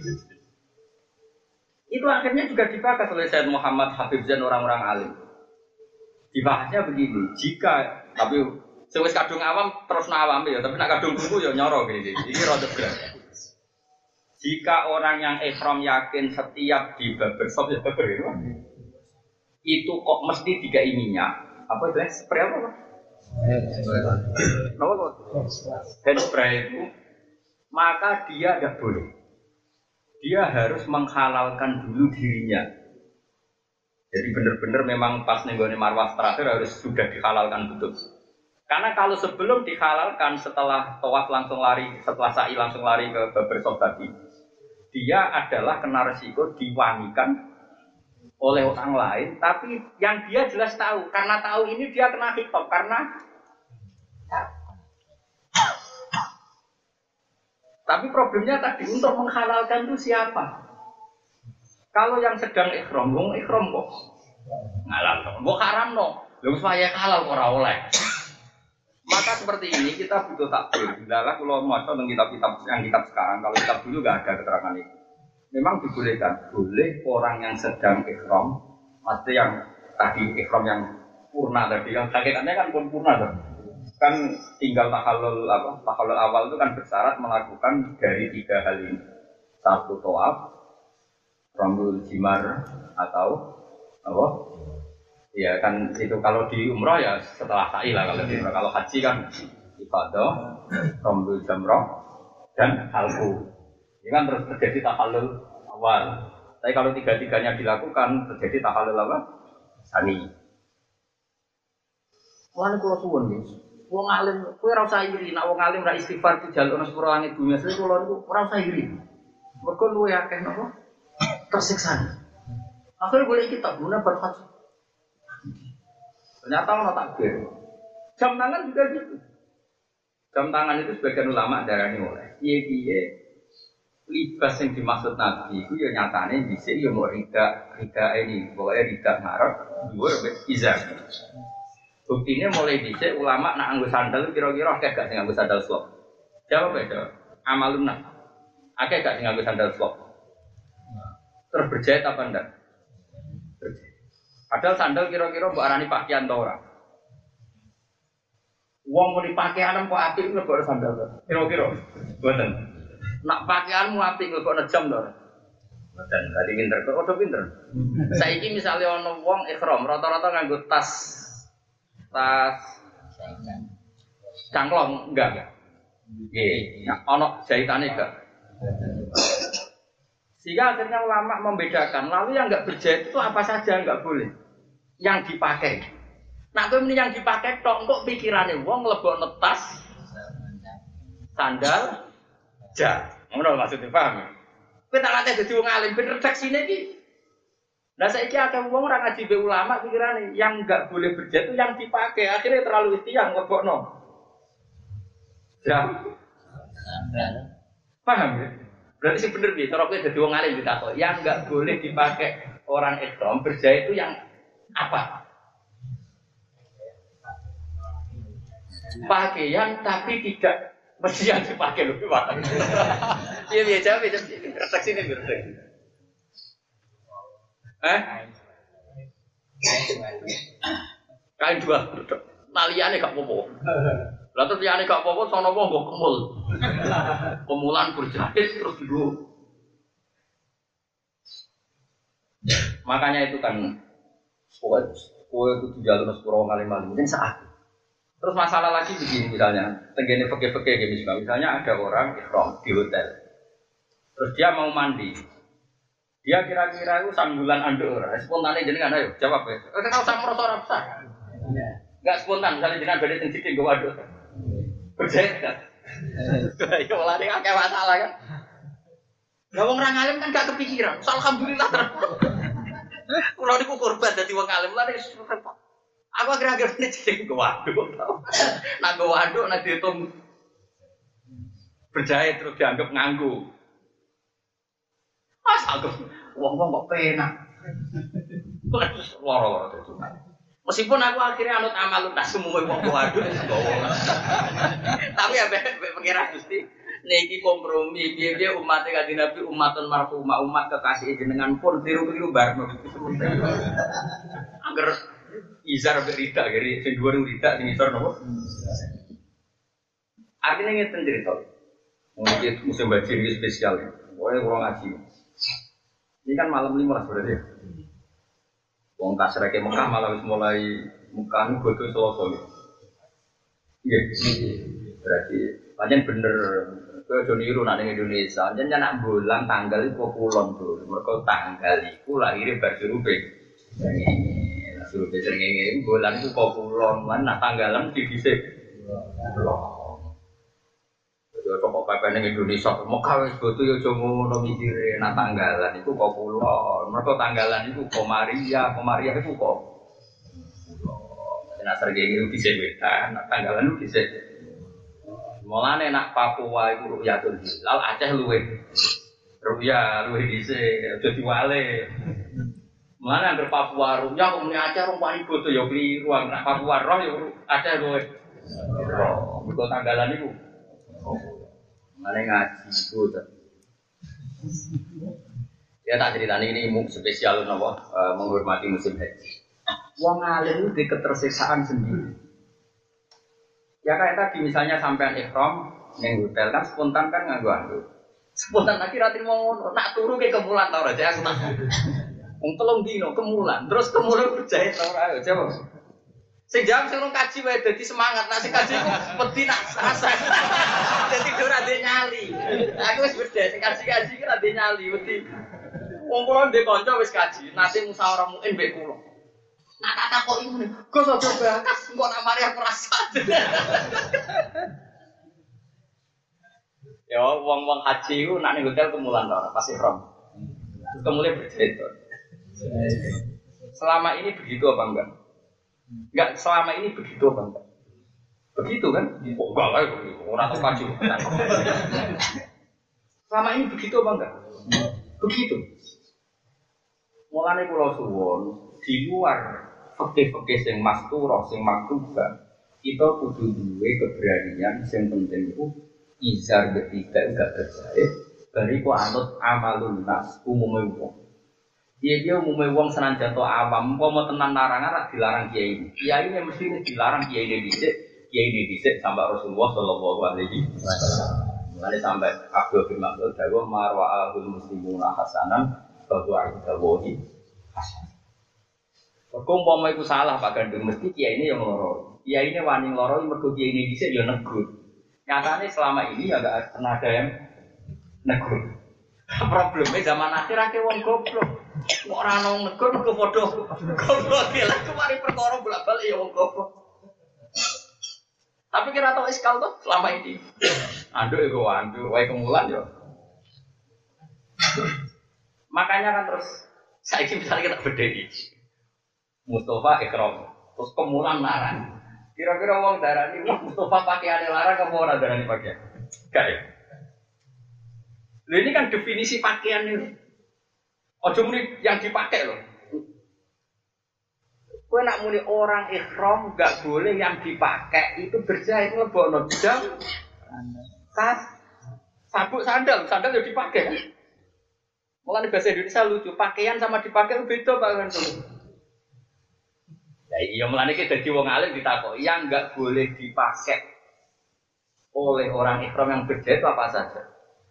Itu akhirnya juga dibahas oleh Sayyid Muhammad Habib Zain orang-orang alim. Dibahasnya begini, jika tapi sewis kadung awam terus nawam ya, tapi nak kadung buku ya nyoro gini. Ini rada berat. Jika orang yang ihram yakin setiap di barbershop ya barber itu kok mesti dikai minyak apa itu spray apa? Hand spray itu maka dia tidak boleh. Dia harus menghalalkan dulu dirinya. Jadi benar-benar memang pas nenggone marwah terakhir harus sudah dihalalkan betul. Karena kalau sebelum dihalalkan setelah tawaf langsung lari, setelah sa'i langsung lari ke barbershop tadi, dia adalah kena resiko diwangikan oleh orang lain. Tapi yang dia jelas tahu, karena tahu ini dia kena hitop karena. Tapi problemnya tadi untuk menghalalkan itu siapa? Kalau yang sedang ikhram, wong ikhram kok halal kok. Mbok haram no. Lha supaya halal ora oleh. Maka seperti ini kita butuh takbir. Dalah kalau maca tentang kitab-kitab yang kitab sekarang, kalau kitab dulu enggak ada keterangan itu. Memang dibolehkan, boleh orang yang sedang ikhram, maksudnya yang tadi ikhram yang purna tadi, yang hakikatnya kan pun purna kan. Kan tinggal tahallul awal itu kan bersyarat melakukan dari 3 hal ini. 1 tawaf, rambul jimar atau apa? Ya kan itu kalau di umrah ya setelah sa'i lah kalau di umrah. Kalau haji kan ibadah, rambul jamrah dan halqu. Ini kan terus terjadi tahallul awal. Tapi kalau 3-tiganya dilakukan terjadi tahallul apa? Sani. Wong kula suwun nggih. Wong alim kowe ora usah iri, nek wong alim ra istighfar dijaluk nang sepuro langit dunya, sing kula niku ora usah iri. Mergo luwe akeh napa? Tersiksa. Akhirnya boleh kita guna berhaji. Ternyata orang takbir. Jam tangan juga gitu. Jam tangan itu sebagian ulama darahnya oleh. Iya. Libas yang dimaksud Nabi itu ya nyatanya bisa ya mau rida ini, pokoknya rida ngarep, dua izar. Buktinya mulai dicek ulama nak anggo sandal kira-kira akeh gak sing anggo sandal slop. Jawab ya, amalun nak. Akeh gak sing anggo sandal slop. Terus berjahit apa enggak? Berjahit. Padahal sandal kira-kira mbok arani pakaian ta ora? Wong muni pakaian kok apik mlebokno sandal to. Kira-kira. Mboten. Nak pakaianmu apik mlebokno jam to ora? Mboten. Dadi pinter kok udah pinter. Saiki misale ana wong ihram rata-rata nganggo tas cangklong enggak. Nggih, ana jahitane enggak. Sehingga akhirnya ulama membedakan. Lalu yang enggak berjahit itu apa saja enggak boleh. Yang dipakai. Nah, kowe meni yang dipakai tok kok pikirane wong mlebokno tas sandal jas. Ngono maksudnya paham. Kowe tak latih dadi wong alim ben redaksine iki. Lah saiki akeh wong ora ngaji be ulama pikirane yang enggak boleh berjahit itu yang dipakai. Akhirnya terlalu istiang mlebokno. Ya. Paham ya? Berarti sih bener nih, cara kowe dadi wong alim ditakok. Yang enggak boleh dipakai orang ihram berjahit itu yang apa? Pakaian tapi tidak mesti yang dipakai loh, Pak. Iya biasa refleksi ini refleksi. Kain dua, naliane gak popo. Lah terus liyane gak popo, sono wong nggo kemul. Kemulan berjahit terus dulu. Makanya itu kan kowe kudu jalur sepuro kali-kali mungkin saat. Terus masalah lagi begini misalnya, tenggene fikih-fikih gitu misalnya ada orang ihram di hotel. Terus dia mau mandi. Dia kira-kira itu sambulan anduk ora, spontane jenengan ayo jawab ya. Ora usah merasa ora usah. Enggak spontan misalnya jenengan badhe teng sikil nggo waduk. Berjahit kan. Ya lari akeh masalah kan. Lah wong ra ngalim kan gak kepikiran. Alhamdulillah terus. Kulo niku korban dadi wong alim lari repot. Aku akhir-akhir ini jadi ke waduk. Nah ke waduk, nah dihitung berjahit terus dianggap nganggu. Asal wong-wong kok penak. Loro-loro itu. Meskipun aku akhirnya anut amal tak semua wong ke waduk. Tapi ya pengira Gusti niki kompromi. Dia umatnya kanjeng Nabi umatun marhumah umat kekasih jenengan pun tiru-tiru bareng. Angger izar berita, jadi sing dhuwur berita sing isor nopo? Artinya ngeten cerita. Mungkin musim bajir ini spesial ya. Pokoknya kurang ngaji. Ini kan malam 15 berarti ya. Wong kasreke Mekah malah wis mulai Mekah niku godho Selasa ya. Iya. Berarti pancen bener kowe aja niru nek ning Indonesia. Pancen nak bulan tanggal iku kulon, Bro. Mergo tanggal iku lahire bar surupe. Suruh besar ngene bulan itu kok kulon mana tanggalan di dhisik. Yo kok pepen ning Indonesia Mekah wis bodo yo aja ngono mikire nak tanggalan iku kok kulon. Mergo tanggalan iku Komaria iku kok. Nek serge iki dhisik wetan, nak tanggalan iku dhisik. Mulane nak Papua iku Ruyatul Hilal Aceh luwe. Ruya luwe dhisik aja diwale. Mana anggar Papua Ruya kok muni Aceh rong wani bodo ya kliru nak Papua roh ya Aceh luwe. Mergo tanggalan iku. Mane ngaji iku to. Ya tak ceritani ini spesial napa menghormati musim haji. Wong alim itu di ketersiksaan sendiri. Ya kayak tadi misalnya sampean ihram ning hotel kan spontan kan nganggo anduk. Spontan lagi rati mau ngono, nak turu ke kemulan ta ora aku tak. Wong telung dino kemulan, terus kemulan berjahit ora ayo jawab. Sing jawab sing kaji wae dadi semangat, nek sing kaji ku wedi nak rasa. Dadi ora ndek nyali. Aku wis beda sing kaji ki ora ndek nyali wedi. Wong kula ndek kanca wis kaji, nate musyawarah muin mbek kula. Nak tak takoki ngene, Gus aja bakas, engko nak mari aku rasa. Ya wong-wong haji ku nak ning hotel kemulan ta ora, pas ihram. Terus kemudian berjahit. Selama ini begitu apa enggak? Enggak, selama ini begitu apa enggak? Begitu kan? Oh, enggak lah, orang tahu kaji. Selama ini begitu apa enggak? Begitu. Mulane kula suwun di luar fikih-fikih sing masturah, sing makruh, kita kudu duwe keberanian sing penting iku izar ketiga enggak berjahit, bariku anut amalun nas umume wong. Dia umumnya wong senajan to awam, mau tenan larangan rak dilarang kiai ini. Kiai ini mesti dilarang kiai ini dhisik sampai Rasulullah sallallahu alaihi wasallam. Mulane sampai Abdul bin Mas'ud dawuh marwa'ahul muslimuna hasanan bahwa idawahi hasan. Kok umpama iku salah Pak Gandung mesti kiai ini yang loro. Kiai ini wani loro mergo kiai ini dhisik ya negur. Nyatane selama ini ya enggak pernah ada yang negur. Problemnya zaman akhir akeh wong goblok. Kok ora ono negur kok padha goblok lha kemari perkara bolak-balik ya wong goblok. Tapi kira tau iskal tuh selama ini. Anduk iku anduk wae kemulan yo. Makanya kan terus saiki misalnya kita bedheki. Mustafa ikram, terus kemulan larang. Kira-kira wong darani Mustafa pakaiane larang apa ora darani pakaian? Gak ya. Loh ini kan definisi pakaian ini. Ojo muni yang dipakai loh. Kowe nak muni orang ihram enggak boleh yang dipakai itu berjahit nglebokno jam tas sabuk sandal yang dipakai kan. Mulane bahasa Indonesia lucu, pakaian sama dipakai itu beda Pak kan. Ya iya mulane iki dadi wong alim ditakoki yang enggak boleh dipakai oleh orang ihram yang berjahit apa saja.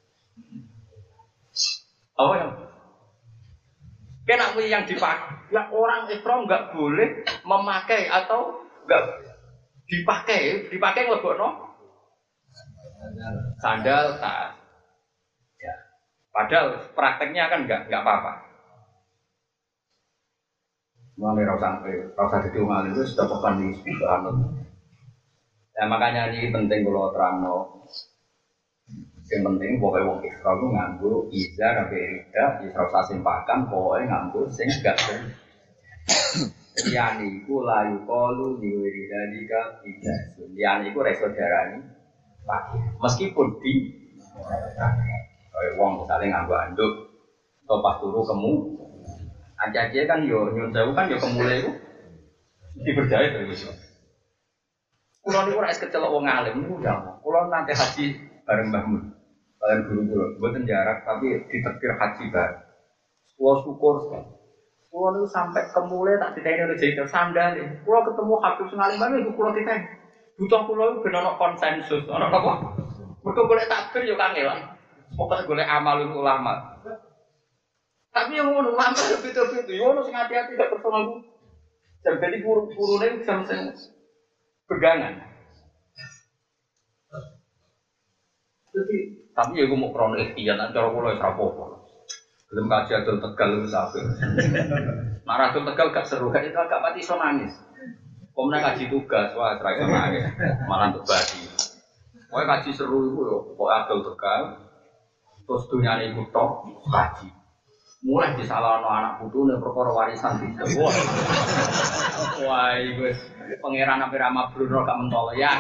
Apa yang kenapa yang dipakai? Ya orang ihram nggak boleh memakai atau nggak dipakai ngelebokno sandal tas. Ya. Padahal prakteknya kan nggak apa-apa. Mulai rasa jadi wong alim itu sudah pekan di subhanallah. Ya makanya ini penting kalau terangno. Yang penting pokoknya wong ihram itu nganggo izar sampai rida, izar sasim pakan pokoknya nganggo sing gak ber. Liyane iku layu kalu diwiri dalika ijazah. Liyane iku reso darani pakai. Meskipun di kayak wong misalnya nganggo anduk atau pas turu kemu aja kan yo nyun sewu kan yo kemule iku diberjaya terus. Kulo niku ora kecelok wong alim niku ndang. Kulo nanti haji bareng Mbah Mun. Kalian guru-guru, buatan jarak tapi ditekir haji bareng. Kulo syukur sekali. Kulo niku sampai kemule tak diteni oleh jahit sandal. Kulo ketemu Habib Sengalim bareng iku kulo diteni. Butuh kulo iku ben ono konsensus, ono apa? Mergo golek takbir yo kangelan. Pokoke golek amalul ulama. Tapi yang ngono ulama beda-beda. Yo ono sing hati-hati gak personal. Jadi guru-gurune bisa sing pegangan. Jadi, tapi ya gue mau krono ikhtiar, cara gue lagi apa-apa. Belum kaji adol Tegal itu sampai. Marah adol Tegal gak seru, itu agak mati so nangis. Kemudian kaji tugas, wah serai sama nangis, malah untuk badi. Pokoknya kaji seru itu ya, pokoknya adol Tegal. Terus dunia ini ikut tok, kaji. Mulai disalahkan anak putu nih perkara warisan bisa. Wah, gue pangeran hampir sama Bruno gak mentol ya.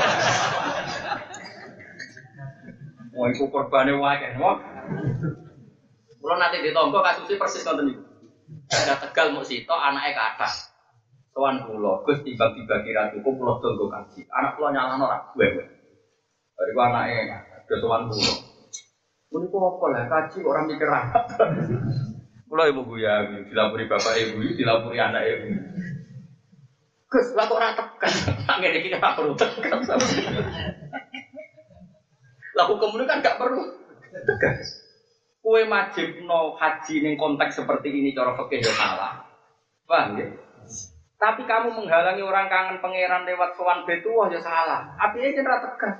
Wah, itu korbannya wae wah. Kalau nanti ditompo kasusnya persis nonton itu. Ada Tegal mau sitok anaknya kata. Soan pulau, Gus tiba-tiba kira cukup pulau tunggu kaji. Anak pulau nyalano rak gue. Dari anaknya ke soan pulau. Ini kok apa lah kaji orang mikir apa? Pulau ibu guya, dilapuri bapak ibu, dilapuri anak ibu. Gus, lah kok orang tekan? Tangan ini kita perlu tekan. Lah hukum ini kan gak perlu tegas. Kue wajib no haji ning konteks seperti ini cara fikih ya salah. Paham ya? Tapi kamu menghalangi orang kangen pangeran lewat sowan betuah ya salah. Apike ora tegas.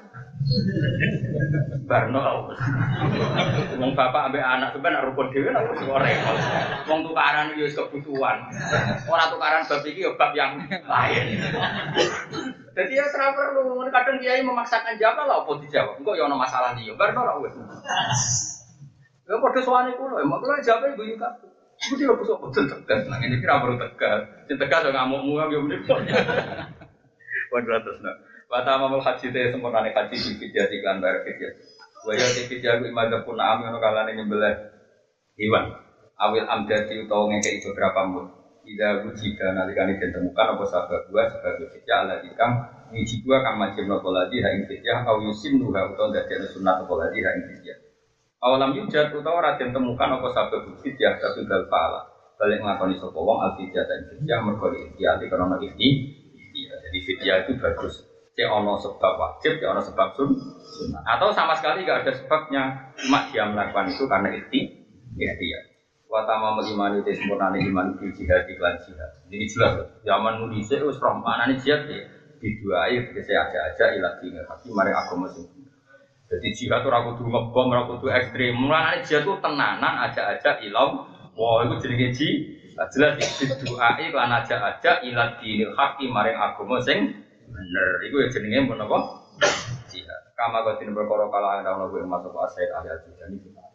Barno. Wong bapak ambek anak sampean nak rukun dhewe nak wis repot. Wong tukaran yo wis kebutuhan. Ora tukaran bab iki yo bab yang lain. Jadi ya terang perlu, kadang kiai memaksakan jawab lah, apa dijawab? Enggak ya ada masalah dia, baru lah wes. Ya pada soalnya kulo, emang kulo jawabnya ibu juga. Ibu tidak busuk betul tegas, nah ini kira baru tegas. Yang tegas yang ngamuk muam ya bener. Waduh terus nak. Pertama mau haji teh sempurna nih haji di video iklan bayar video. Wajah di video aku imadah pun am yang kalane nyembelih hewan. Awil amdati utawa ngekei beberapa mut. Ida wujida nalikani ditemukan apa sabab dua sebagai fitjah ala dikam wiji dua kang majib notoladi haing fitjah au yusim duha utawa dadek sunat notoladi haing fitjah awalam yujad utawa raden temukan apa sabab fitjah tapi gal fa'ala balik ngelakoni sopa wong al fitjah dan fitjah mergoli ikhtiati karena ikhtiar jadi fitjah itu bagus cek ono sebab wajib, cek ono sebab sunnah atau sama sekali gak ada sebabnya cuma dia melakukan itu karena ikhtiar Watama melimani itu sempurna iman di jihad iklan jihad. Jadi jelas zaman nulisnya itu serem mana nih jihad ya diduai saya aja ilat tinggal tapi mari agama sendiri. Jadi jihad itu ragu tuh ngebom ragu tuh ekstrim. Mana nih jihad itu tenanan aja ilau. Wah itu jadi jihad jelas diduai iklan aja ilat tinggal haki mari agama sing bener. Itu ya jenenge pun apa jihad. Kama kau tidak berkorok kalau anda mau masuk asal ahli jihad ini.